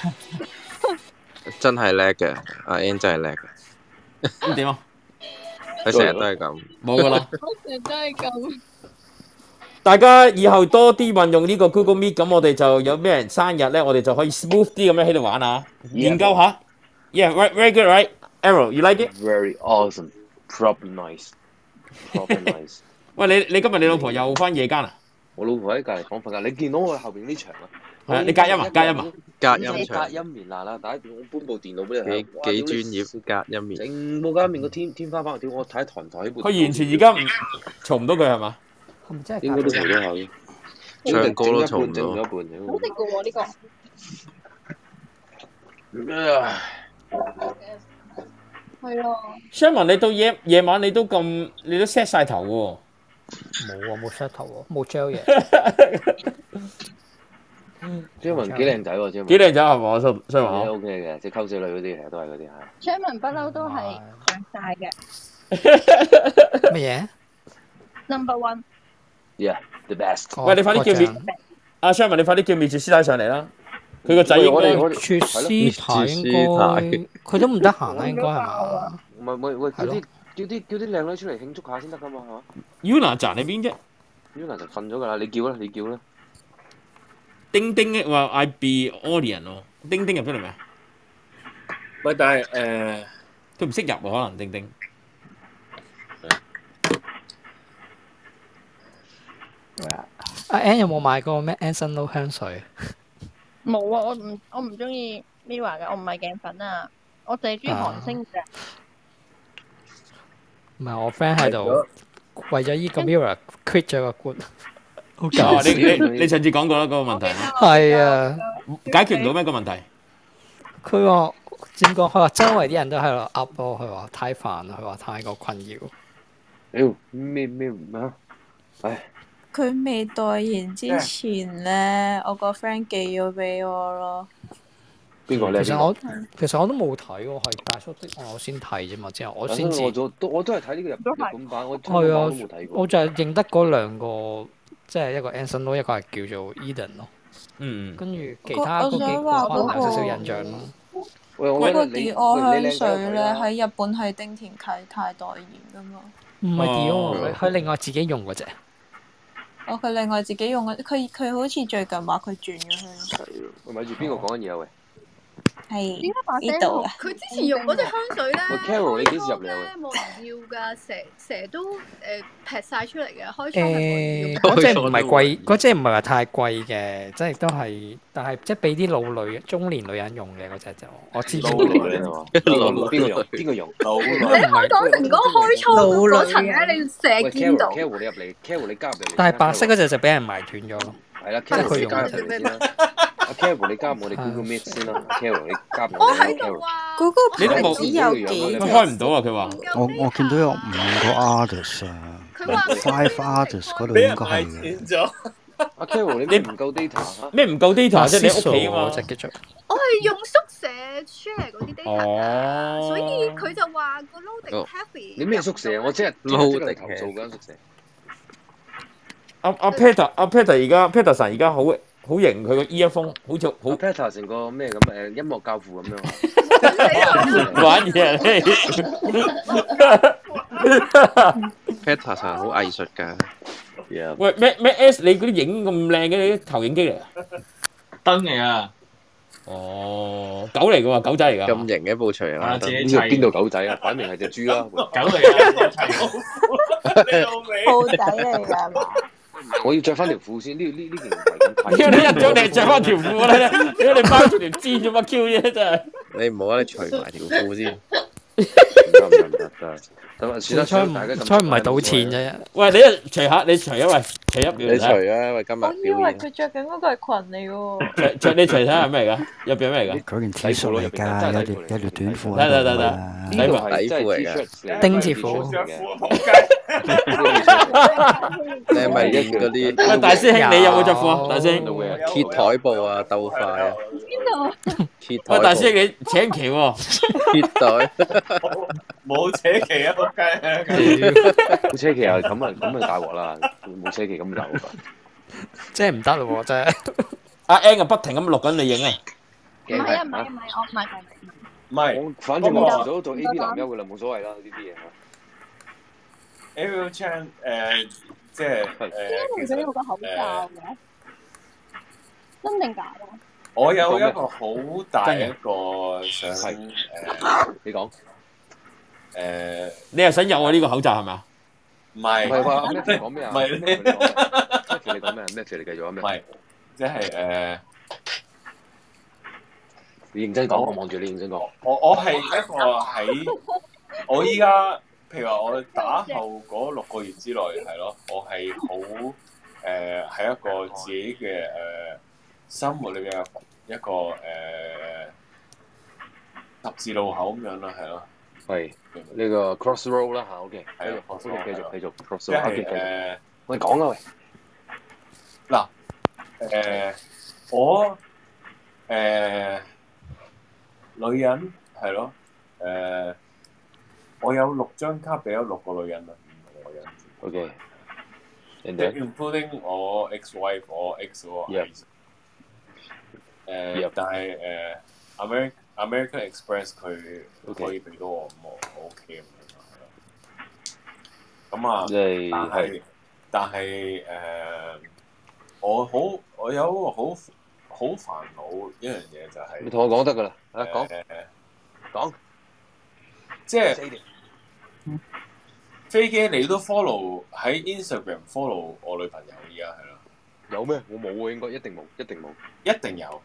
真係叻嘅，阿 Ann 真係叻嘅。 咁點啊？ 佢成日都係咁。 冇噶啦。 成日都係咁。 大家以後多啲運用呢個 Google Meet，咁我哋就有咩人生日咧，我哋就可以 smooth 啲咁樣喺度玩啊，研究下。Yeah, right, very good, right? Arrow, you like it? Very awesome. Proper nice. 喂，你今日你老婆又翻夜間啊？ 我老婆喺隔離房瞓覺，你見到我後邊呢場啊？ 係啊，你隔音啊？隔音啊？ 隔音場。 隔音棉嗱，打電我搬部電腦俾你。 幾專業隔音棉。 整部隔音棉個天花板，屌我睇台唔台呢部。 佢完全而家唔嘈唔到佢係嘛？ 係咪真係？ 應該都嘈到下。 唱歌都嘈唔到。 整咗一半。 好食嘅喎呢個。係啊。 Sherman，你到夜晚你都 set 晒頭喎。 冇啊，冇 set 頭喎，冇 gel 嘢。 張文幾靚仔喎，張文。 幾靚仔係嘛？張文 OK 嘅，即係溝仔女嗰啲其實都係嗰啲嚇。 張文不嬲都係長大嘅。 乜嘢 ？Number one。 Yeah，the best。 喂，你快啲叫阿 Sherman，你快啲叫滅絕師太上嚟啦！佢個仔應該絕師太應該，佢都唔得閒啦，應該係嘛？ 唔係喂，叫啲靚女出嚟慶祝下先得噶嘛，係嘛 ？Yuna 站喺邊啫 ？Yuna 就瞓咗㗎啦，你叫啦。 丁丁話 I be audience 喎，丁丁入咗嚟未啊？ 喂，但係佢唔識入喎，可能丁丁。 阿 Ann 有冇買過咩 Anson Lo 香水？ 冇啊，我唔中意 Mirror 嘅，我唔係鏡粉啊，我淨係中意韓星嘅。 唔係我 friend 喺度為咗依個 Mirror quit 咗個 group， 好搞笑。 你上次講過啦，嗰個問題。 係啊， 解決唔到咩個問題？ 佢話點講？佢話周圍啲人都喺度 up 咯，佢話太煩啦，佢話太過困擾。 咩啊？唉。 佢未代言之前咧，我個 friend 寄咗俾我咯。 邊個咧？ 其實我都冇睇喎，係大叔的我先睇啫嘛，之後我先知。 我都係睇呢個日本版，我香港版都冇睇過。 我就係認得嗰兩個，即係一個 Anson Lo，一個係叫做 Eden 咯。跟住其他嗰幾個可能有少少印象咯。 嗰個 Dior 香水咧喺日本係丁田啟泰代言噶嘛？ 唔係 Dior，佢另外自己用嗰隻。 佢另外自己用嘅，佢好似最近話佢轉咗香水咯。 喂，咪住邊個講緊嘢啊？喂， 係點解把聲呢度啊？ 佢之前用嗰隻香水咧， 喂 Carol， 你幾時入嚟啊？ 冇人要㗎，成日都劈晒出嚟嘅，開倉係冇人要。 嗰隻唔係貴，嗰隻唔係話太貴嘅，即係都係，但係即係俾啲老女、中年女人用嘅嗰隻就，我知。 老女啊嘛，邊個用？ 你開講成嗰個開倉嗰層咧，你成日見到。 Carol 你入嚟 ，Carol 你加入嚟。 但係白色嗰隻就俾人埋斷咗咯。 係啦，Carol 你加入嚟先啦。阿 Carol 你加入我哋 Google Meet 先啦 ，Carol 你加入我哋 Carol。 嗰個牌子有幾？ 佢開唔到啊！佢話。 我見到有5個 artist 啊，5 artist 嗰度應該係嘅。 阿 Carol 你唔夠 data 嚇？ 咩唔夠 data 啫？你屋企啊嘛。 我係用宿舍 share 嗰啲 data 所以佢就話個 loading heavy。 你咩宿舍啊？我即係嚟投訴間宿舍。 阿 Peter 而家 Peterson 而家好型，佢個 earphone 好似好 Peter 成個咩咁音樂教父咁樣。 玩嘢 Peterson 好藝術㗎。 喂咩 S 你嗰啲影咁靚嘅，你啲投影機嚟啊？ 燈嚟啊！ 哦，狗嚟㗎喎，狗仔嚟㗎。 咁型嘅部錘啊！ 邊度狗仔啊？擺明係隻豬啦。 狗嚟㗎， 兔仔嚟㗎嘛？ 我要着翻條褲先，呢件唔係咁睇。 屌你一早你着翻條褲啦！屌你包住條氈做乜 Q 嘢真係？ 你唔好啊！你除埋條褲先。 唔得。咁啊，算啦，大家咁。 彩唔係賭錢啫。 喂，你一除下，你除啊喂，除一秒你除啊！喂，今日表演。 我以為佢着緊嗰個係裙嚟喎。 除你除睇下係咩嚟㗎？入邊咩嚟㗎？ 嗰件 T 恤嚟㗎，有條短褲。 得。 底褲嚟㗎。 丁字褲。 你係咪練嗰啲？ 喂，大師兄，你有冇着褲啊？大師兄。 揭台布啊，鬥快啊！ 邊度？ 揭台。 喂，大師兄，你請旗喎。 揭台。 冇扯旗啊！仆街！ 冇車旗啊！咁大鑊啦！冇車旗咁大鑊。 即係唔得咯喎！真係。 阿 N 啊，不停咁錄緊你影啊！ 唔係，我唔係。 反正我遲早做 A B 男優噶啦，冇所謂啦呢啲嘢。 Ariel Chan 即係點解唔想用個口罩嘅？真定假㗎？ 我有一個好大一個想你講。 你又想有我呢個口罩係咪啊？ 唔係話咩講咩啊？ 唔係咩你講咩？咩你繼續啊？咩？ 唔係，即係你認真講，我望住你認真講。 我係一個喺我依家，譬如話我打後嗰6個月之內係咯，我係好喺一個自己嘅生活裏邊嘅一個十字路口咁樣啦，係咯。 係呢個 crossroad 啦嚇 ，OK， 係啊， 繼續 crossroad， 即係我講啦喂。 嗱我女人係咯，我有6張卡俾咗6個女人啦，5個女人。 OK， including 我 ex-wife， 我 ex 嗰個但係American Express 佢可以俾到我，咁我 OK 咁樣係咯。咁啊，但係我有一個好煩惱一樣嘢就係， 你同我講得㗎啦，講， 即係飛機你都 follow 喺 Instagram follow 我女朋友依家係咯。 有咩？我冇喎，應該一定冇。 一定有。 一定有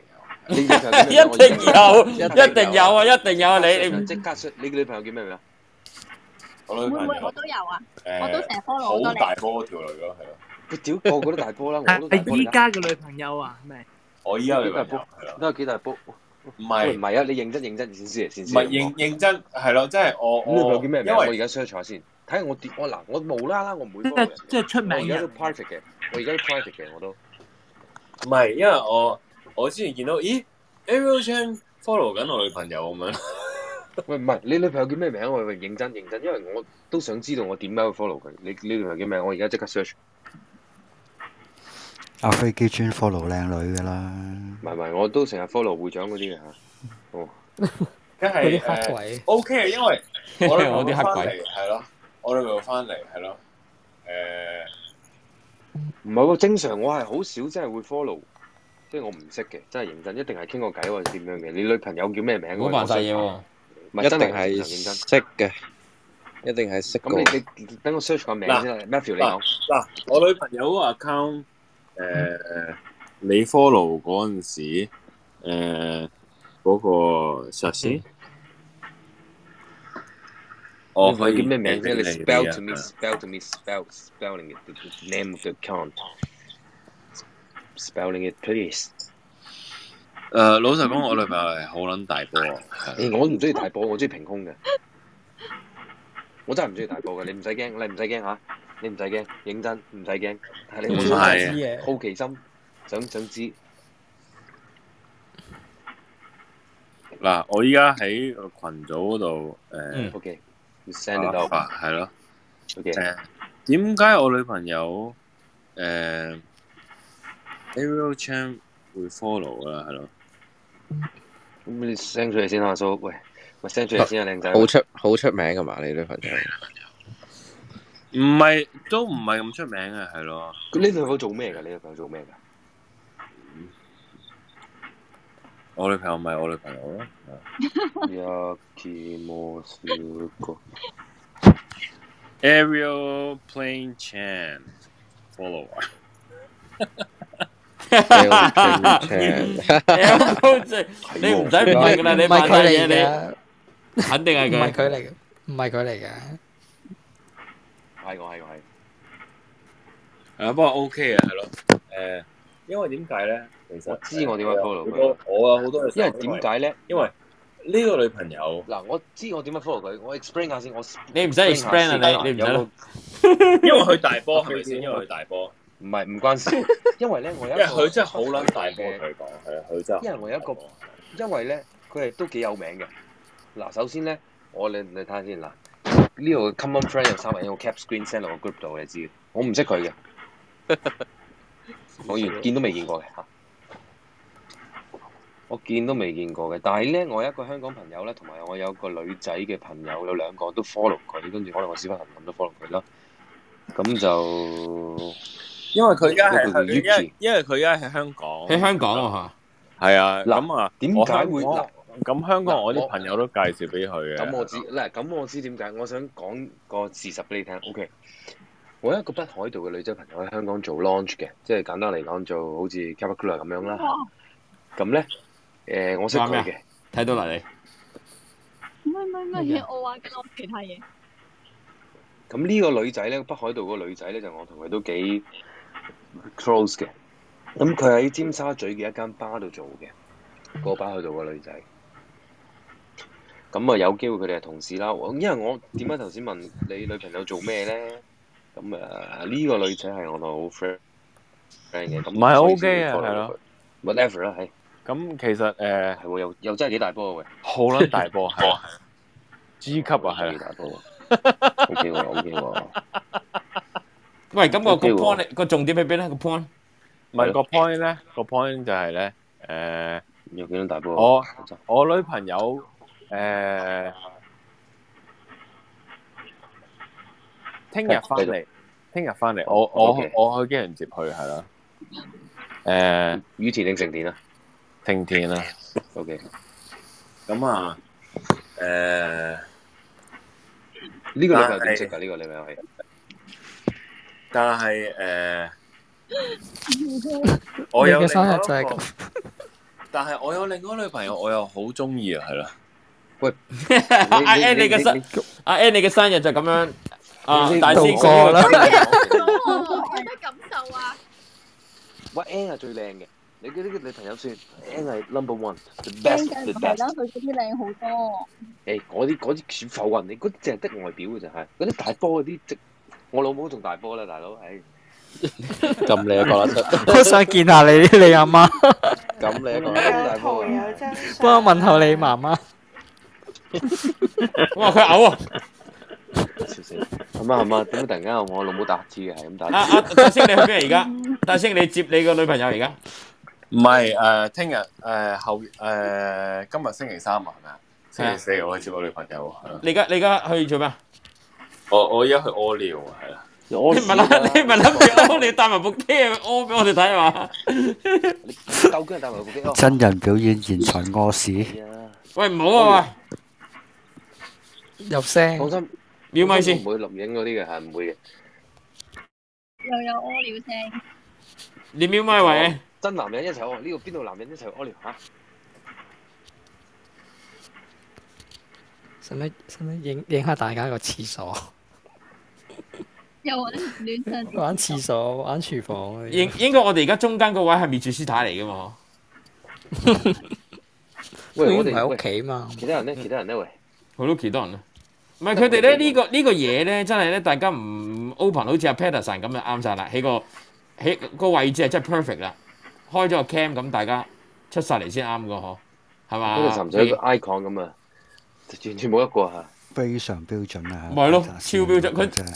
啊！你即刻你嘅女朋友叫咩名啊？ 我女朋友我都有啊，我都成日 follow 好多好大波嗰條女咯，係咯。 佢屌個個都大波啦，我都係依家嘅女朋友啊？咩？ 我依家女朋友都有幾大波？唔係啊！你認真先先。 唔係認真係咯，即係我女朋友叫咩名？我而家 search 下先，睇下我無啦啦我唔會 follow 人。 即係出名嘅。我而家都 private 嘅，我都。 唔係，因為我之前見到，咦 Ariel Chan follow 緊我女朋友咁樣。 喂，唔係你女朋友叫咩名？我認真，因為我都想知道我點解會 follow 佢。你女朋友叫咩？我而家即刻 search。 阿飛機專 follow 靚女㗎啦。 唔係，我都成日 follow 會長嗰啲嘅嚇。哦， 梗係黑鬼。 OK，因為我女朋友啲黑鬼係咯，我女朋友翻嚟係咯， 唔係喎，正常我係好少真係會 follow，即係我唔識嘅，真係認真，一定係傾個偈或者點樣嘅。你女朋友叫咩名？ 冇扮晒嘢喎， 一定係識嘅，一定係識。 咁你等我 search 個名先 Matthew 你講。 嗱，我女朋友嗰個 account，你 follow 嗰陣時，嗰個實時， 我可以叫咩名啫？你 spell to me spelling it the name of the account，spelling it please。 老實講，我女朋友係好撚大波啊！ 我唔中意大波，我中意平空嘅。我真係唔中意大波嘅，你唔使驚，嚇，你唔使驚，認真唔使驚，係你好奇心，想知。 嗱，我依家喺個群組嗰度 OK，send 到係咯。 OK， 點解我女朋友Ariel Chan 會 follow 啦？係咯。 咁你 send 出嚟先啊，蘇。喂 ，send 出嚟先啊，靚仔。 好出名㗎嘛？你女朋友？ 唔係，都唔係咁出名嘅，係咯。 你女朋友做咩㗎？你女朋友做咩㗎？ 我女朋友咪我女朋友咯。Ariel Plain Chan follower。 你唔使問㗎啦，你問乜嘢你？肯定係佢。 唔係佢嚟嘅。 係。 不過 OK 嘅，係咯。因為點解咧？其實我知我點解 follow 佢。 我有好多嘢。 因為點解咧？ 因為呢個女朋友嗱，我知我點樣 follow 佢，我 explain 下先。 你唔使 explain 啊，你唔使。 因為佢大波係咪先？因為佢大波。 唔關事。因為咧，我有一個。 因為佢真係好撚大波，佢講係啊，佢真係。 因為我有一個，因為咧，佢係都幾有名嘅。嗱，首先咧，你睇下先嗱，呢度 common friend 有3個人，我 cap screen send 落個 group 度，你知嘅。我唔識佢嘅。我見都未見過嘅嚇，我見都未見過嘅。但係咧，我有一個香港朋友咧，同埋我有一個女仔嘅朋友，有2個都 follow 佢，跟住可能我小朋友咁都 follow 佢啦。咁就因為佢而家係因為佢而家喺香港， 喺香港啊嚇。 係啊，咁啊， 點解會嗱？ 咁香港我啲朋友都介紹俾佢嘅。 咁我知點解，我想講個事實俾你聽。OK， 我有一個北海道嘅女仔朋友喺香港做 launch 嘅，即係簡單嚟講做好似 Capacooler 咁樣啦。咁咧我識佢嘅， 睇到啦你。 唔係，我話講其他嘢。 咁呢個女仔咧，北海道個女仔咧，就我同佢都幾 close 嘅。咁佢喺尖沙咀嘅一間巴度做嘅，個北海道個女仔。咁啊有機會佢哋係同事啦。因為我點解頭先問你女朋友做咩咧？咁呢個女仔係我同好 friend 嘅。唔係 OK 啊，係咯。 whatever 啦，係。 咁其實係喎，又真係幾大波喎。 好撚大波係啊 ！G 級啊，係幾大波。OK 喎，OK 喎。 喂，咁個 point 個重點喺邊咧？個 point 唔係個 point 咧，個 point 就係咧有幾多大波？ 我女朋友聽日翻嚟，我去機場接佢係啦。 羽田定成田啊？ 成田啊。 OK。 咁啊呢個你係點識㗎？呢個你咪係。 但係我有嘅生日就係咁。 但係我有另外女朋友，我又好中意啊，係啦。 喂， 阿 N 你嘅生日就咁樣大師過啦。 有咩感受啊？ 喂 ，N 係最靚嘅，你嘅呢個女朋友算 N 係 number one，the best，the best。 係啦，佢嗰啲靚好多。 嗰啲全浮雲，你嗰啲淨係得外表嘅就係，嗰啲大波嗰啲我老母仲大波啦，大佬， 咁你都覺得出？ 我想見下你阿媽。 咁你都覺得大波啊？ 幫我問候你媽媽。 哇！佢嘔啊！ 笑死！係嘛？點解突然間我老母打乞嗤嘅？係咁打。 大星你去邊而家？大星你接你個女朋友而家？ 唔係聽日今日星期三啊，係咪啊？星期四我去接我女朋友。 你而家去做咩？ 我而家去屙尿啊，係啦。 你唔係諗住屙，你帶埋部機去屙俾我哋睇嘛？ 你夠姜帶埋部機屙。 真人表演現場屙屎。 喂，唔好啊！ 入聲。 放心， 瞄咪先。 唔會錄影嗰啲嘅，係唔會嘅。 又有屙尿聲。 你瞄咪喂？ 真男人一齊屙，呢個邊度男人一齊屙尿嚇？ 使唔使影下大家個廁所？ 又玩亂陣。 玩廁所，玩廚房。 應該我哋而家中間個位係滅絕師太嚟噶嘛？ 喂，我哋喺屋企嘛。 其他人咧，喂， 好多其他人咧。唔係佢哋咧呢個嘢咧，真係咧大家唔 open，好似阿 Patterson 咁就啱晒啦。喺個位置係真係 perfect 啦。開咗個 cam 咁，大家出晒嚟先啱個嗬，係嘛？ 嗰度甚至一個 icon 咁啊，完全冇一個嚇。 非常標準啊！ 咪係咯，超標準佢。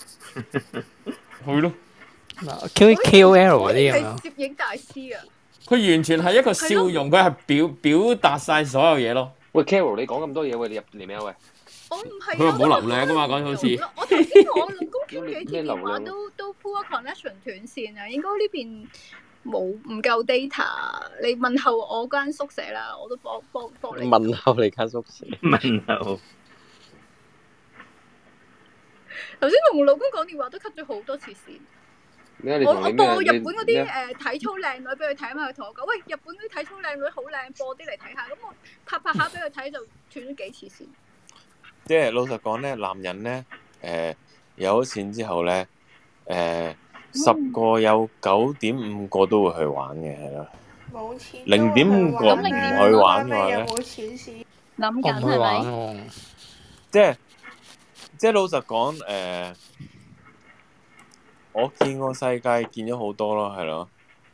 係咯。 嗱 KOL 嗰啲係攝影大師啊！ 佢完全係一個笑容，佢係表達晒所有嘢咯。 喂 Carol， 你講咁多嘢，喂，你入嚟未啊？喂， 我唔係。 佢話冇流量噶嘛，講好似。 我頭先同我老公傾幾次電話都 poor connection 斷線啊，應該呢邊唔夠 data。你問候我間宿舍啦，我都幫你。 問候你間宿舍。 問候。 頭先同我老公講電話都 cut 咗好多次線。我播日本嗰啲體操靚女俾佢睇嘛，佢同我講：喂，日本嗰啲體操靚女好靚，播啲嚟睇下。咁我拍下俾佢睇，就斷咗幾次線。 即係老實講咧，男人咧有咗錢之後咧10個有9.5個都會去玩嘅，係咯。 冇錢。 0.5個唔去玩嘅話咧， 冇錢先諗緊係咪？ 即係老實講我見過世界見咗好多咯，係咯，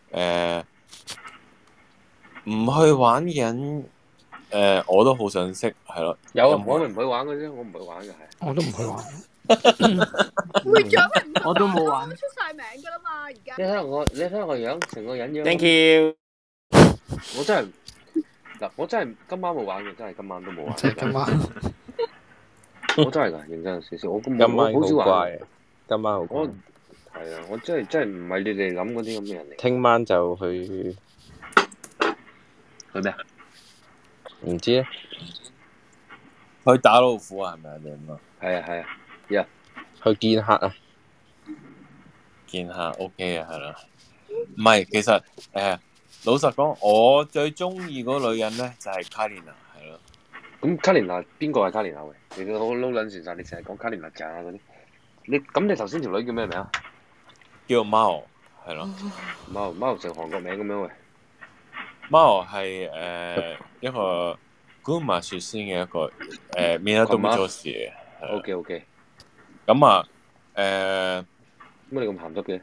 唔去玩嘅人，我都好想識，係咯。 有啊，我咪唔去玩嘅啫，我唔去玩嘅係。 我都唔去玩。 會長咪唔去玩， 我都冇玩。 出晒名㗎啦嘛，而家。 你睇下我樣，成個人樣。 Thank you。 我真係今晚冇玩嘅，真係今晚都冇玩。 今晚。 我真係㗎，認真少少。我今晚好少玩。 今晚好乖。 係啊，我真係唔係你哋諗嗰啲咁嘅人嚟。 聽晚就去咩啊？ 唔知咧， 去打老虎啊？係咪啊？你咁啊？ 係啊係啊，呀， 去見客啊！ 見客 OK 啊，係啦。唔係，其實老實講，我最中意嗰個女人咧就係卡蓮娜，係咯。 咁卡蓮娜邊個係卡蓮娜喂？你都好撈撚船晒，你成日講卡蓮娜咋嗰啲。你頭先條女叫咩名啊？ 叫貓，係咯。 貓成韓國名咁樣喂。 貓係一個群馬出身嘅一個港都女士嘅。 OK。 咁啊乜你咁鹹濕嘅？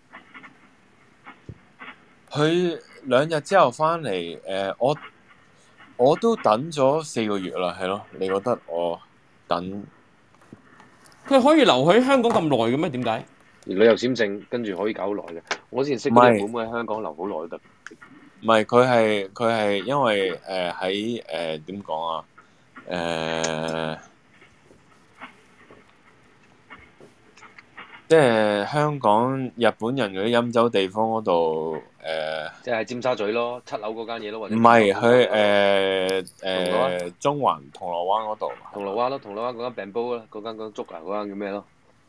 佢2日之後翻嚟，我都等咗4個月啦，係咯。你覺得我等？ 佢可以留喺香港咁耐嘅咩？點解？ 旅遊簽證跟住可以搞好耐嘅。我之前識嗰啲妹妹喺香港留好耐都得。 唔係，佢係因為喺點講啊？即係香港日本人嗰啲飲酒地方嗰度即係尖沙咀咯，7樓嗰間嘢咯，或者唔係佢中環銅鑼灣嗰度。 銅鑼灣嗰間病煲啦，嗰間粥啊，嗰間叫咩咯？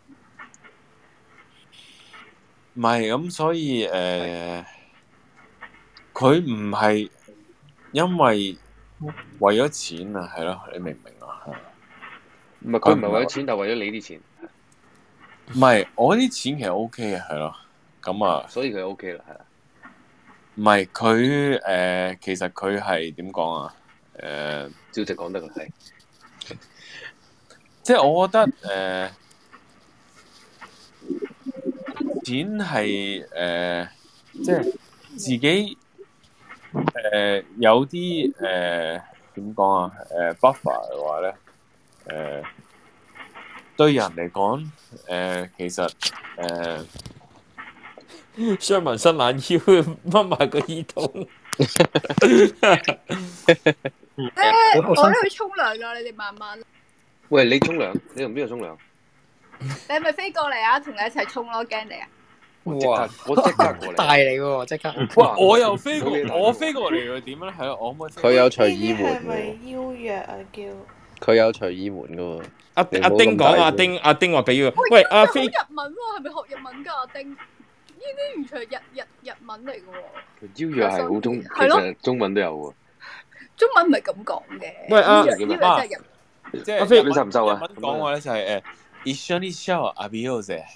唔係咁，所以佢唔係因為咗錢啊，係咯，你明唔明啊？ 唔係佢唔係為咗錢，但係為咗你啲錢。 唔係我啲錢其實 OK 嘅，係咯，咁啊， 所以佢 OK 啦，係啦。 唔係佢其實佢係點講啊？ 照直講得佢係， 即係我覺得錢係即係自己有啲點講啊buffer 嘅話咧對人嚟講其實雙紋伸懶腰，掹埋個耳筒。 我都去沖涼啦，你哋慢慢。 喂，你沖涼？你同邊個沖涼？ 你係咪飛過嚟啊？同你一齊沖咯，驚你啊！ 哇！ 我即刻過嚟， 大嚟喎，即刻。 哇！我又飛過，我飛過嚟又點咧？係咯，我可唔可以？ 佢有隨意門係咪邀約啊？叫佢有隨意門噶喎。 阿丁講，阿丁話俾佢。喂，阿飛講日文喎，係咪學日文㗎？阿丁呢啲完全係日文嚟㗎喎。 邀約係好中，其實中文都有喎。 中文唔係咁講嘅。 喂阿即係阿飛，你收唔收啊？ 日文講話咧就係一緒にシャワー浴びようぜ。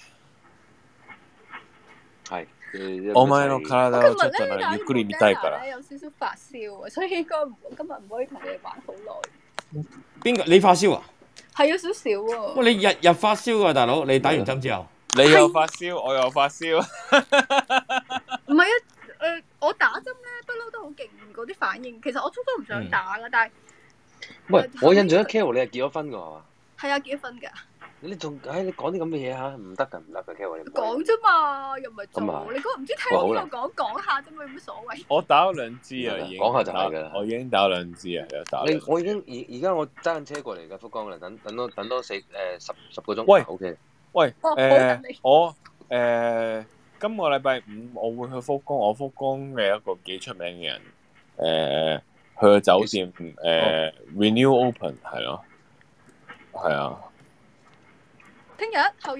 係。 お前の體をちょっとゆっくり見たいから。 有少少發燒啊，所以應該今日唔可以同你哋玩好耐。 邊個？你發燒啊？ 係有少少喎。 喂，你日發燒啊，大佬！你打完針之後， 你又發燒，我又發燒。 唔係啊，我打針咧不嬲都好勁嗰啲反應。其實我初初唔想打噶，但係喂，我印象中 Carol 你係結咗婚噶係嘛？ 係啊，結咗婚㗎。 你仲你講啲咁嘅嘢嚇，唔得㗎，Carol 你講啫嘛，又唔係做。 咁你嗰唔知聽邊個講下啫嘛，有乜所謂？ 我打咗2支啊，已經講下就係㗎啦。 我已經打咗2支啊，有打。 我已經而家我揸緊車過嚟㗎，福岡啦，等多10個鐘。 喂 ，OK。 喂，我今個禮拜5我會去福岡，我福岡嘅一個幾出名嘅人，去個酒店Renew Open 係咯，係啊。 聽日、後日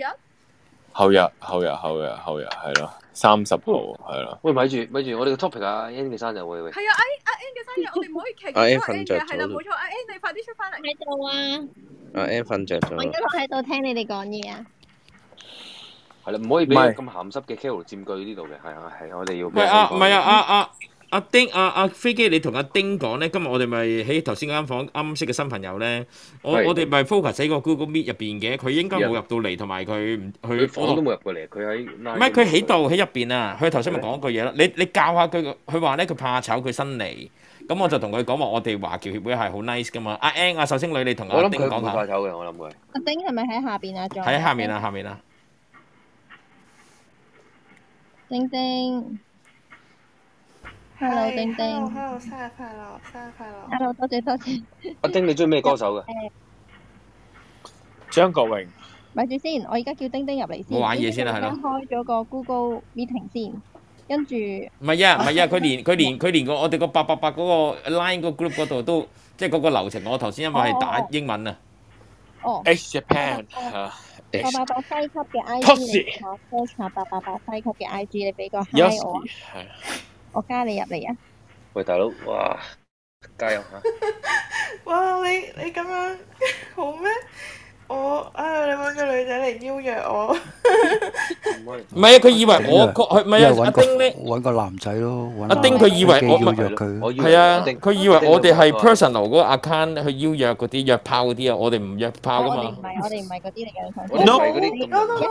係咯，30號係咯。 喂，咪住，我哋個 topic 啊 ，Ann 嘅生日喂。 係啊，阿 Ann 嘅生日，我哋唔可以騎住阿 Ann 嘅，係啦，冇錯，阿 Ann 你快啲出翻嚟。 喺度啊！ 阿 Ann 瞓着咗。 我一路喺度聽你哋講嘢啊。 係啦，唔可以俾咁鹹濕嘅 Carol 佔據呢度嘅，係我哋要。 喂唔係阿丁阿飛機，你同阿丁講咧，今日我哋咪喺頭先間房啱識嘅新朋友咧，我哋咪 focus 喺個 Google Meet 入邊嘅，佢應該冇入到嚟，同埋佢我都冇入過嚟，佢喺唔係佢喺度喺入邊啊！佢頭先咪講句嘢咯，你教下佢，佢話咧佢怕醜，佢新嚟，咁我就同佢講話，我哋華僑協會係好 nice 噶嘛。阿 Ann 阿壽星女，你同阿丁講下。 我諗佢唔怕醜嘅，我諗佢。 阿丁係咪喺下邊啊？ 喺下面啊！ 丁丁。Hello， 丁丁。 Hello， 生日快樂。 Hello， 多謝。 阿丁，你中意咩歌手嘅？ 張國榮。 咪住先，我而家叫丁丁入嚟先。 我玩嘢先啦，係咯。 開咗個 Google Meeting 先。 跟住唔係啊，佢連個我哋個888嗰個 line 個 group 嗰度都即係嗰個流程。我頭先因為係打英文啊。 哦 H Japan 888西級嘅 IG 我 search 下888西級嘅 IG， 你俾個 hi 我，我加你入嚟啊！ 喂，大佬，哇，加油嚇！ 哇！你咁樣好咩？你揾個女仔嚟邀約我。 唔係啊，佢以為我佢唔係啊，阿丁咧揾個男仔咯， 阿丁佢以為我邀約佢， 係啊，佢以為我哋係 personal 嗰個 account 去邀約嗰啲約炮嗰啲啊，我哋唔約炮噶嘛。 我哋唔係嗰啲嚟嘅。 我哋唔係嗰啲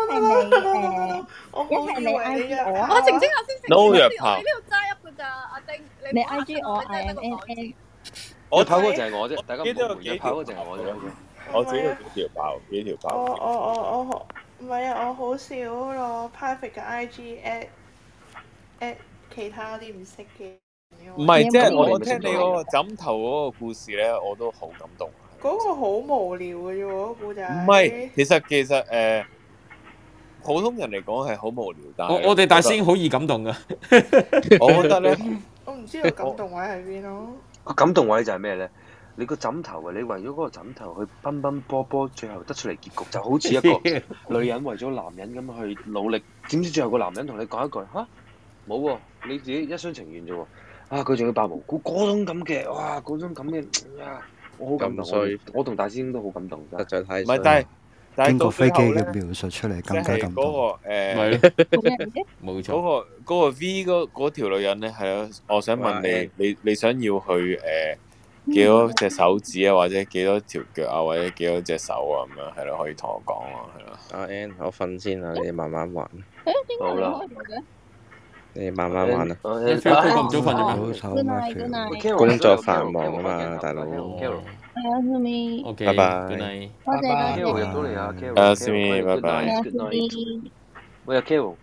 一係你 IG 我啊， 我澄清下先。 No 約炮。 呢度齋噏㗎咋，阿丁。 你 IG 我 IMNA。 我跑嗰就係我啫，大家唔好約炮嗰就係我啫。 我自己有幾條炮。 我唔係啊！我好少攞 private 嘅 IG at 其他啲唔識嘅。 唔係，即係我聽你嗰個枕頭嗰個故事咧，我都好感動。 嗰個好無聊嘅啫喎，嗰個故仔。 唔係，其實普通人嚟講係好無聊，但係我哋大師兄好易感動噶。 我覺得咧， 我唔知道感動位喺邊咯。 個感動位就係咩咧？你個枕頭啊！你為咗嗰個枕頭去奔奔波波，最後得出嚟結局就好似一個女人為咗男人咁去努力，點知最後個男人同你講一句嚇冇喎，你自己一廂情願啫喎！啊，佢仲要扮無辜，嗰種咁嘅，哇，嗰種咁嘅啊，我好感動，我同大師兄都好感動， 實在太唔係，但係經過飛機嘅描述出嚟更加感動。 冇錯。 嗰個 V 嗰條女人咧係咯，我想問你想要去幾多隻手指啊，或者幾多條腳啊，或者幾多隻手啊咁樣係咯，可以同我講啊，係咯。 阿 N， 我瞓先啦，你慢慢玩。 好啦， 你慢慢玩啦。 你 feel 咁早瞓咩？工作繁忙啊嘛，大佬。 OK， 拜拜。 多謝。 Carol 入到嚟啊 ，Carol。 Simi，拜拜。 喂，阿 Carol。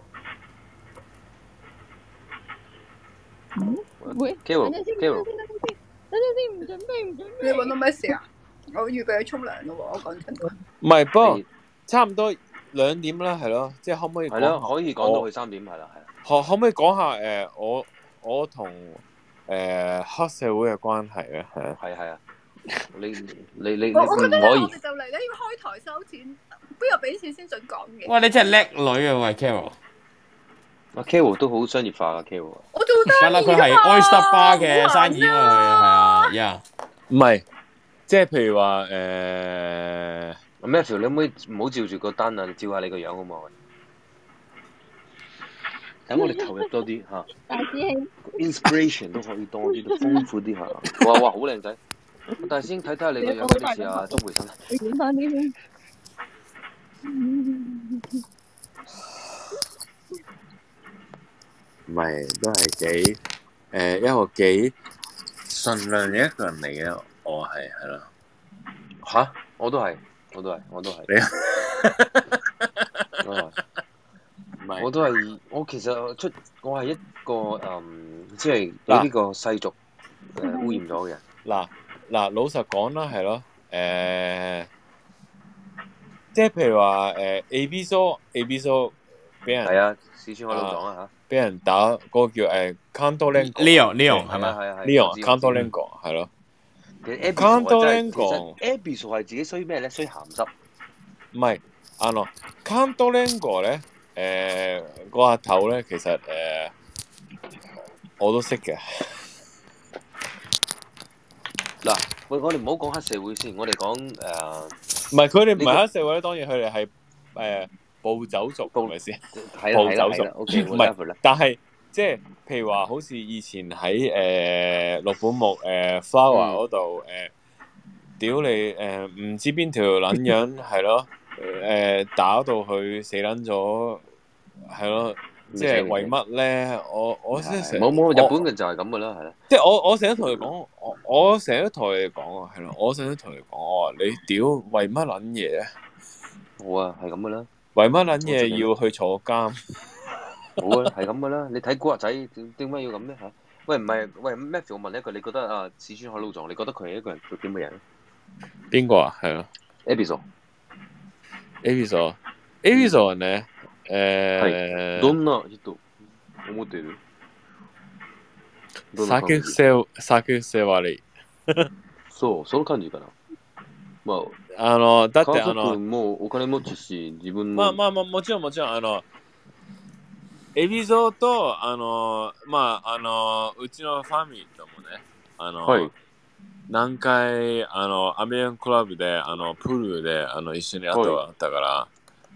喂 ，Carol。 等陣先，唔準備。 你揾到咩事啊？我預備去沖涼咯喎，我講真。 唔係，不過差唔多2點啦，係咯，即係可唔可以？ 係咯，可以講到去3點，係啦，係啦。 可唔可以講下我同黑社會嘅關係咧？ 係啊。你唔可以。 我覺得我哋就嚟咧要開台收錢，邊有俾錢先準講嘅？ 哇！你真係叻女啊，喂 Carol。 阿 Carol 都好商業化啊 Carol。 我做生意㗎嘛。 佢係 Oyster Bar 嘅生意啊，佢係啊， 唔係，即係譬如話 Matthew， 你可唔可以唔好照住個單啊？你照下你個樣好嘛？等我哋投入多啲嚇。 大師兄。 Inspiration 都可以多啲，豐富啲嚇。哇，好靚仔！大師兄睇下你個樣有啲似阿鍾培生。 你點翻啲先？ 唔係，都係幾一個幾順良嘅一個人嚟嘅，我係咯。 嚇！我都係。你我都係，我其實我係一個即係俾呢個世俗污染咗嘅。 嗱，老實講啦，係咯，即係譬如話A B So 俾人係啊，四川開老講啊嚇， 俾人打嗰個叫 Leon 係咪 ？Leon Cantolengo 係咯。 Cantolengo Abysso 係自己衰咩咧？衰鹹濕。 唔係Cantolengo 咧，個阿頭咧，其實我都識嘅。 嗱，我哋唔好講黑社會先，我哋講唔係佢哋唔係黑社會，當然佢哋係暴走族，係咪先？暴走族 ，OK， 唔係，但係即係譬如話，好似以前喺六本木Flower 嗰度屌你唔知邊條撚樣係咯，打到佢死撚咗，係咯，即係為乜咧？我真係冇日本嘅就係咁嘅啦，係啦。 即係我成日同佢講，我成日同佢講啊，係咯，我成日同佢講，我話你屌為乜撚嘢咧？ 好啊，係咁嘅啦。 為乜撚嘢要去坐監？ 好啊，係咁嘅啦。你睇古惑仔點解要咁咧嚇？喂，唔係，喂 Matthew， 我問你一句，你覺得啊，四川海老藏，你覺得佢係一個人做點嘅人？ 邊個啊？係咯 Abysso 人咧？ 係。どんな人？ 思ってる。 酒癖悪い。 そう、その感じかな。まあ、だって家族もお金持ちし、自分も。 まあ、もちろん、エビゾと、うちのファミリーともね、 はい。 何回、アメリカンクラブで、プールで、一緒にあったから、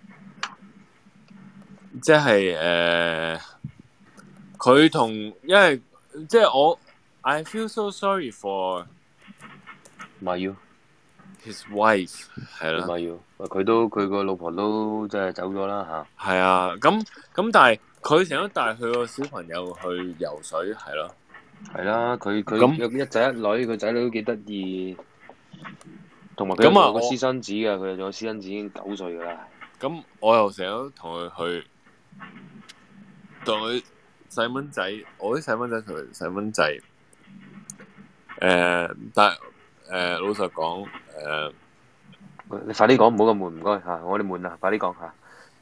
即係佢同因為即係我 I feel so sorry for Mayu his wife 係啦 ，Mayu佢個老婆都即係走咗啦嚇。係啊，咁但係佢成日都帶佢個小朋友去游水係咯。 係啦，佢有一仔一女，佢仔女都幾得意，同埋佢有個私生子㗎，佢有個私生子已經9歲㗎啦。 咁我又成日都同佢去。同佢細蚊仔，我啲細蚊仔同佢細蚊仔，但老實講， 你快啲講，唔好咁悶，唔該嚇，我哋悶啦，快啲講嚇。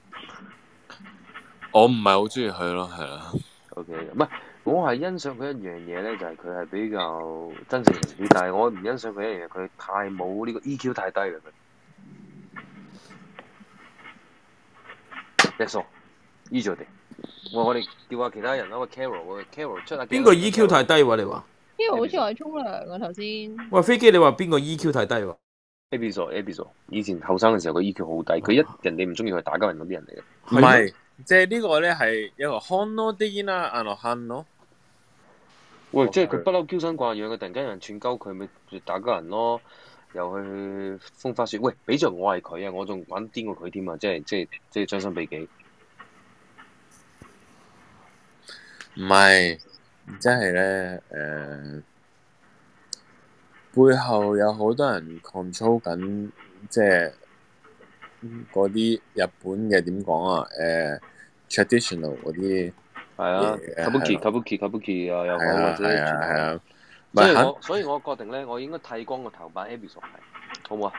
我唔係好中意佢咯，係啦。 OK， 唔係，我係欣賞佢一樣嘢咧，就係佢係比較真性情啲，但係我唔欣賞佢一樣嘢，佢太冇呢個 EQ 太低啦佢。That's all，依咗哋。我哋叫下其他人啦，喂 Carol 出下。 邊個 EQ 太低喎？你話 Carol 好似話沖涼啊頭先。 喂，飛機你話邊個 EQ 太低喎 ？Ebiso，以前後生嘅時候，佢 EQ 好低，佢人哋唔中意佢打交人嗰啲人嚟嘅。 唔係，即係呢個咧係一個漢咯啲啦，漢咯。 喂，即係佢不嬲嬌生慣養，佢突然間有人串鳩佢，咪打交人咯，又去風花雪。喂，比著我係佢啊，我仲玩癲過佢添啊！即係將心比己。 唔係，即係咧，背後有好多人 control 緊，即係嗰啲日本嘅點講啊？traditional 嗰啲係啊 ，kabuki 啊，又好或者係啊， 所以我決定咧，我應該剃光個頭扮 Ebiso 係，好唔好啊？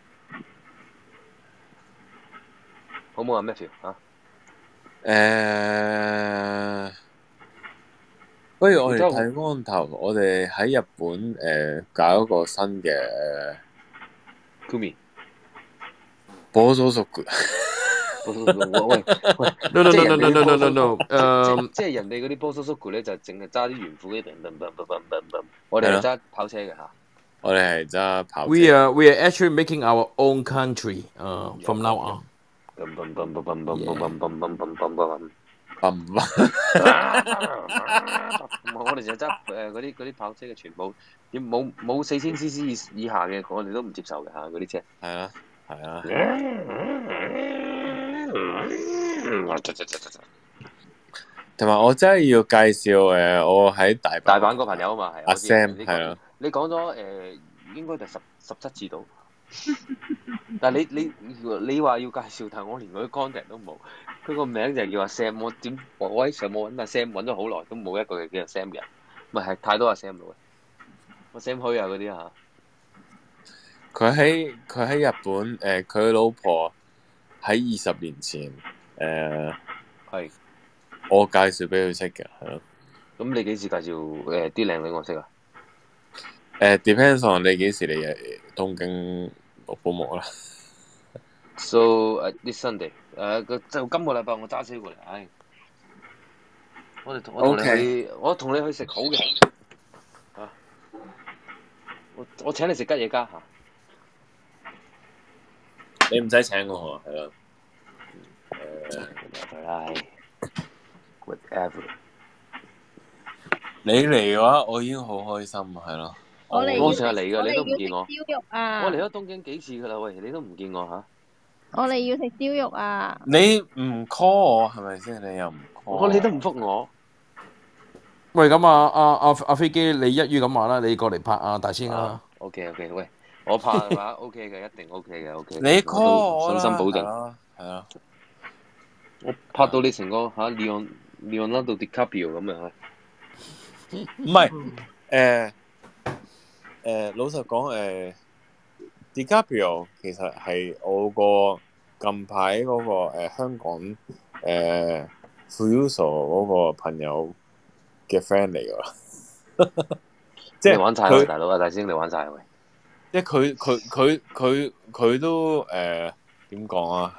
好唔好啊 ，Matthew 嚇？ 不如我哋睇光頭，我哋喺日本搞一個新嘅 Kumi 波蘇叔嘅。 喂 ，no， 即係人哋嗰啲波蘇叔咧就淨係揸啲圓褲嘅，我哋係揸跑車嘅嚇。 我哋係揸跑車。 We are actually making our own country from now on。 我哋就揸嗰啲跑車嘅全部，冇4000 cc 以下嘅，我哋都唔接受嘅嚇嗰啲車。 係啊，係啊。同埋我真係要介紹我喺大阪個朋友啊嘛，係阿 Sam 係啊。 你講咗應該就17次到。但係你話要介紹，但係我連佢 contact 都冇。佢個名就係叫阿 Sam， 我喺上網揾阿 Sam 揾咗好耐，都冇一個叫阿 Sam 嘅人，唔係太多阿 Sam 咯。阿 Sam 虛啊嗰啲嚇。 佢喺日本佢老婆喺20年前係我介紹俾佢識嘅，係咯。 咁你幾時介紹啲靚女我識啊 ？Depends on 你幾時嚟東京錄保姆啦。 So this Sunday， 就今個禮拜我揸車過嚟，唉，我同你去食好嘅嚇，我請你食吉野家嚇， 你唔使請我係啦， whatever。 你嚟嘅話，我已經好開心係咯。 我成日嚟㗎，你都唔見我。 燒肉啊！ 我嚟咗東京幾次㗎啦，喂，你都唔見我嚇。 我哋要食燒肉啊！ 你唔 call 我係咪先？你又唔 call 你都唔覆我。 喂，咁阿飛機，你一於咁話啦，你過嚟拍大仙啦。 OK， 喂，我拍嘅話 OK 嘅，一定 OK 嘅 OK。 你 call 我啦， 信心保證。 係啊。 我拍到你成個嚇Leonardo DiCaprio 咁樣嚇。 唔係老實講DiCaprio 其實係我個近排嗰個香港 Fuyuso 嗰個朋友嘅 friend 嚟㗎，即係你玩晒佢大佬啊，大師兄你玩晒佢。 即係佢都點講啊？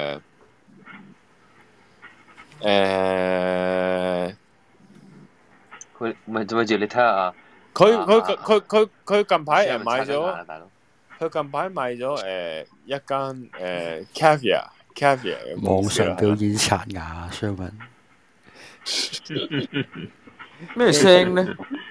佢咪住你睇下佢近排買咗，佢近排買咗一間caviar 嘅網上表演刷牙，相問咩聲咧？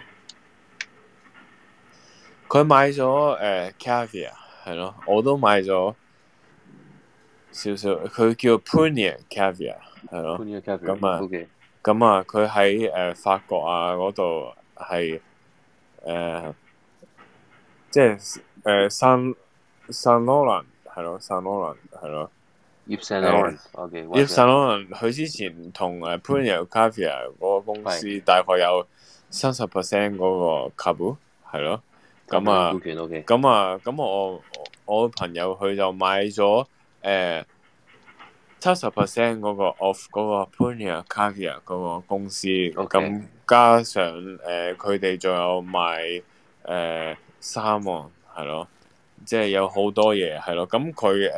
佢買咗caviar 係咯，我都買咗少少。佢叫 Puglia caviar 係咯，咁啊佢喺法國啊嗰度係即係Saint Laurent 係咯，Saint Laurent係咯。 Yves Saint Laurent，Yves Saint Laurent 佢之前同Puglia caviar 嗰個公司大概有30% 嗰個 Cabu 係咯。咁我朋友佢就買咗70% 嗰個 off 嗰個 Puglia caviar 嗰個公司，咁加上佢哋仲有賣衫喎，係咯，即係有好多嘢係咯。咁佢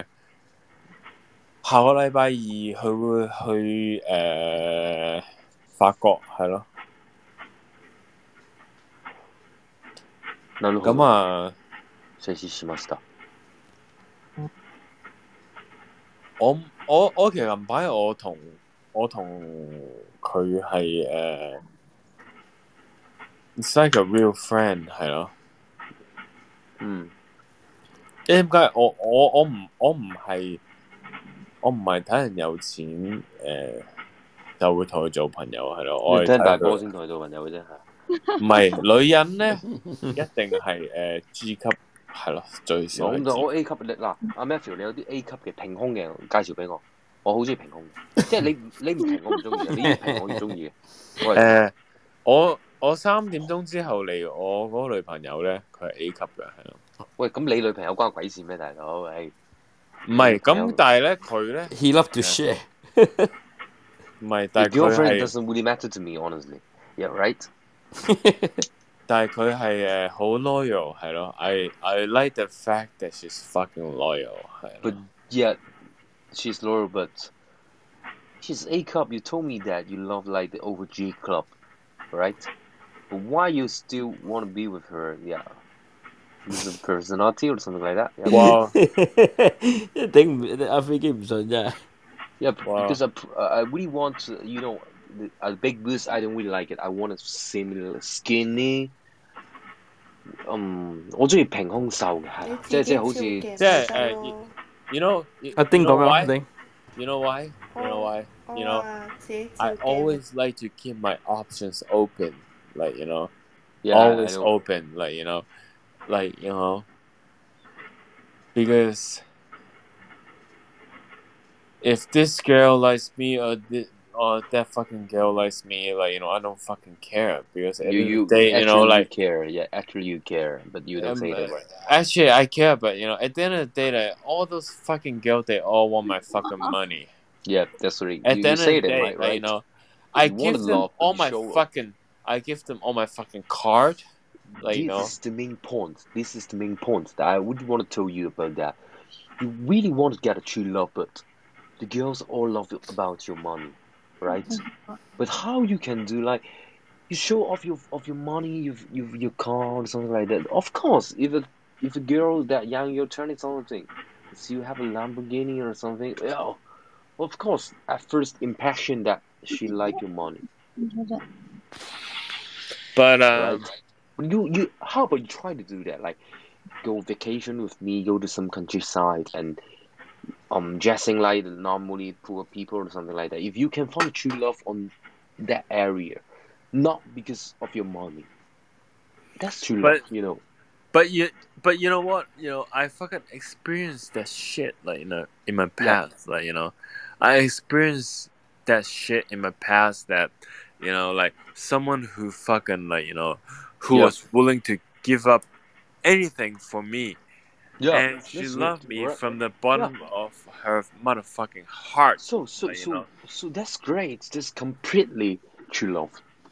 下個禮拜二佢會去法國係咯。咁啊， 承知しました。 我其實近排我同佢係it's like a real friend 係咯。點解我唔係睇人有錢就會同佢做朋友係咯。我係聽大波先同佢做朋友嘅啫。 唔係女人咧，一定係G 級係咯，最少。 我 A 級嗱，阿 Matthew 你有啲 A 級嘅平胸嘅介紹俾我，我好中意平胸嘅，即係你唔平我唔中意，你平我越中意嘅。 我3點鐘之後嚟，我嗰個女朋友咧，佢係 A 級嘅係咯。 喂，咁你女朋友關鬼事咩，大佬？誒， 唔係咁，但係咧佢咧 ，He love to share 唔係，但係佢係 girlfriend doesn't really matter to me honestly. Yeah, right. 但係佢係好 loyal 係咯。I like the fact that she's fucking loyal 係。 But yet she's loyal, but she's A cup. You told me that you love like the over G club, right? But why you still want to be with her? Yeah, is it personality or something like that? Yeah. 哇！ 頂唔阿飛機唔順啫。 Yeah, because I really want to, you know. A big boost, I don't really like it. I want it similar skinny. 我中意平胸瘦嘅，係即係好似即係you know 阿丁講咩？阿丁 You know why? You know, I always like to keep my options open, like you know, always open, like you know, because if this girl likes me or that fucking girl likes me, like you know, I don't fucking care because at the end of the day, you know, like care. Yeah, actually you care, but you don't say that. Right? Actually, I care, but you know, at the end of the day, like all those fucking girls, they all want my fucking money. Yeah, that's right. At the end of the day, right? Like, you know, I give them all my fucking card. Like, you know, this is the main point. This is the main point that I would want to tell you about that. You really want to get a true love, but the girls all love about your money. Right, but how you can do like you show off your money, your car or something like that. Of course, if a girl that young, you're turning something, so you have a Lamborghini or something. Yeah, of course, at first impression that she like your money. But right? You how about you try to do that? Like go vacation with me, go to some countryside and. Dressing like normally poor people or something like that. If you can find true love on that area, not because of your money, that's true love, you know. But you know what? You know, I fucking experienced that shit, like, you know, in my past. Like, you know, I experienced that shit in my past that, you know, like someone who fucking like, you know, who was willing to give up anything for me. and she loved me from the bottom of her motherfucking heart. So that's great. That's completely true love.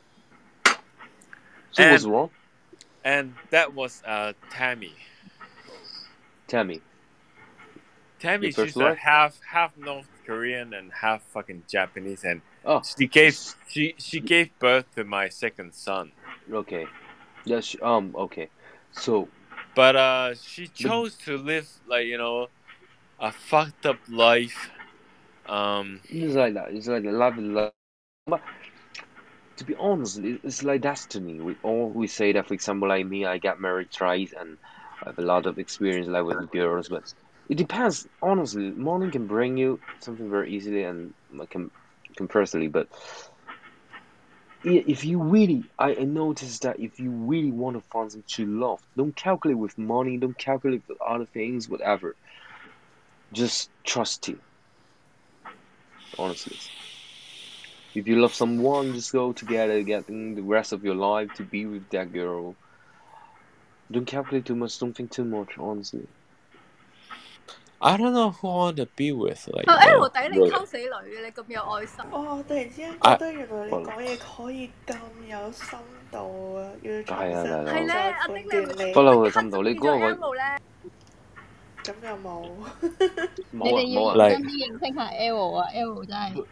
So what's wrong? And that was Tammy. Tammy, she's half North Korean and half fucking Japanese, and she gave birth to my second son. Okay. Yes. Okay. So. But she chose to live like a fucked up life. It's like that. It's like love. But to be honest, it's like destiny. We always say that. For example, like me, I got married twice and I have a lot of experience like with girls, but it depends. Honestly, morning can bring you something very easily and compressively, but if you really, I noticed that if you really want to find some true love, don't calculate with money, don't calculate with other things, whatever. Just trust it. Honestly. If you love someone, just go together, getting the rest of your life to be with that girl. Don't calculate too much, don't think too much, honestly. I don't know who I want to be with. Like, L 底你溝死女嘅，你咁有愛心。 哦，突然之間覺得原來你講嘢可以咁有深度啊！要重新係咧，阿丁你不嬲嘅深度，你嗰個咁又冇。 你哋要認真啲認識下 L 啊 ，L 真係。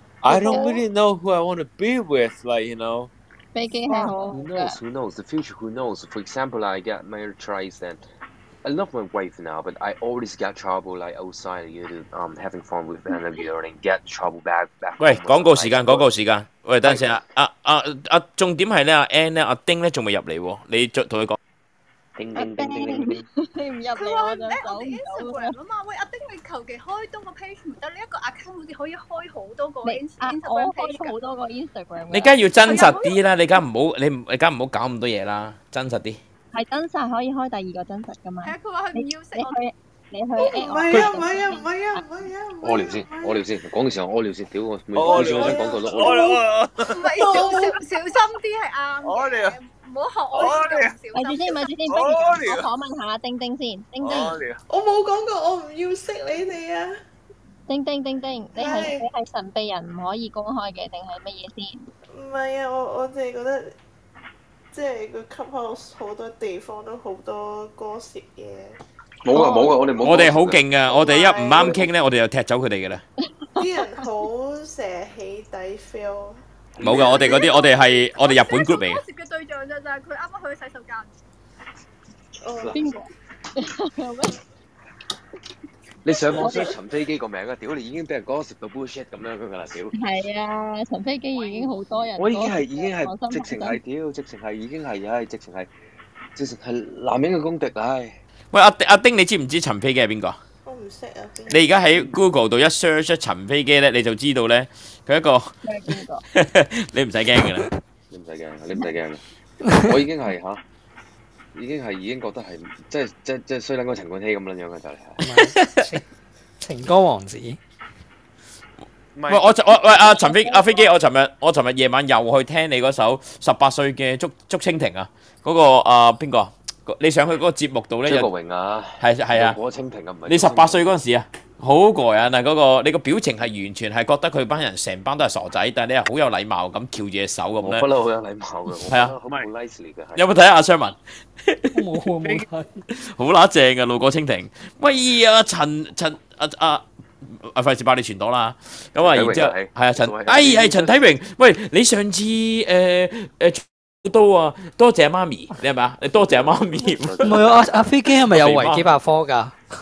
I don't really know who I want to be with, like 飛機係好。 Who knows? The future, who knows? For example, I got married twice and I love my wife now, but I always get trouble like outside, having fun with another girl and get trouble back. 喂，廣告時間。喂，等陣先啊！重點係咧，阿 Ann 咧，阿丁咧仲未入嚟喎，你再同佢講。 叮， 你唔入嚟我就走唔到。 Instagram 啊嘛，喂，阿丁你求其開多個 page 唔得，你一個 account 好似可以開好多個 Instagram page。 我開好多個 Instagram。 你梗係要真實啲啦，你梗唔好搞咁多嘢啦，真實啲。 係真實可以開第二個真實噶嘛？ 係啊，佢話佢唔要食我。 你去唔係啊！ 屙尿先，講嘅時候屙尿先，屌我想講過都屙尿。唔係小心啲係啱嘅，唔好學我咁小心。 咪住先，不如我訪問下丁丁先，丁。 我冇講過我唔要識你哋啊！ 丁，你係神秘人唔可以公開嘅，定係乜嘢先？ 唔係啊，我淨係覺得。即係個 Clubhouse 好多地方都好多歌涉嘢。 冇噶， 我哋好勁噶，我哋一唔啱傾咧，我哋就踢走佢哋噶啦。 啲人好成日起底 feel。 冇噶，我哋嗰啲，我哋日本 group 嚟嘅。 涉嘅對象就係佢啱啱去洗手間。 邊個？ 你上網 search 陳飛機個名啊！屌你已經俾人講食到 bullshit 咁樣噶啦！屌。 係啊，陳飛機已經好多人。 我已經係直情係屌，直情係已經係直情係男人嘅公敵唉！ 喂，阿丁，你知唔知陳飛機係邊個？ 我唔識啊。 你而家喺 Google 度一 search 陳飛機咧，你就知道咧佢一個。 邊個？ 你唔使驚㗎啦。 你唔使驚，我已經係嚇。已經覺得係即係衰撚個陳冠希咁樣樣嘅就係情歌王子。 喂，阿飛機，我尋日夜晚又去聽你嗰首18歲嘅竹蜻蜓啊，嗰個邊個？你上去嗰個節目度咧， 張國榮啊， 係啊， 嗰蜻蜓啊，唔係。 你18歲嗰陣時啊，好過癮啊！嗰個你個表情係完全係覺得佢班人成班都係傻仔，但係你係好有禮貌咁翹住隻手咁咧。 我不嬲好有禮貌嘅。 係啊， 好 nice 嚟嘅。 有冇睇阿雙文？ 冇睇。 好乸正嘅路過蜻蜓。喂啊，費事爆你全朵啦。咁啊，然之後係啊係陳體榮。喂，你上次多謝媽咪，你係咪啊？你多謝媽咪。 唔係啊，阿飛機係咪有維基百科㗎？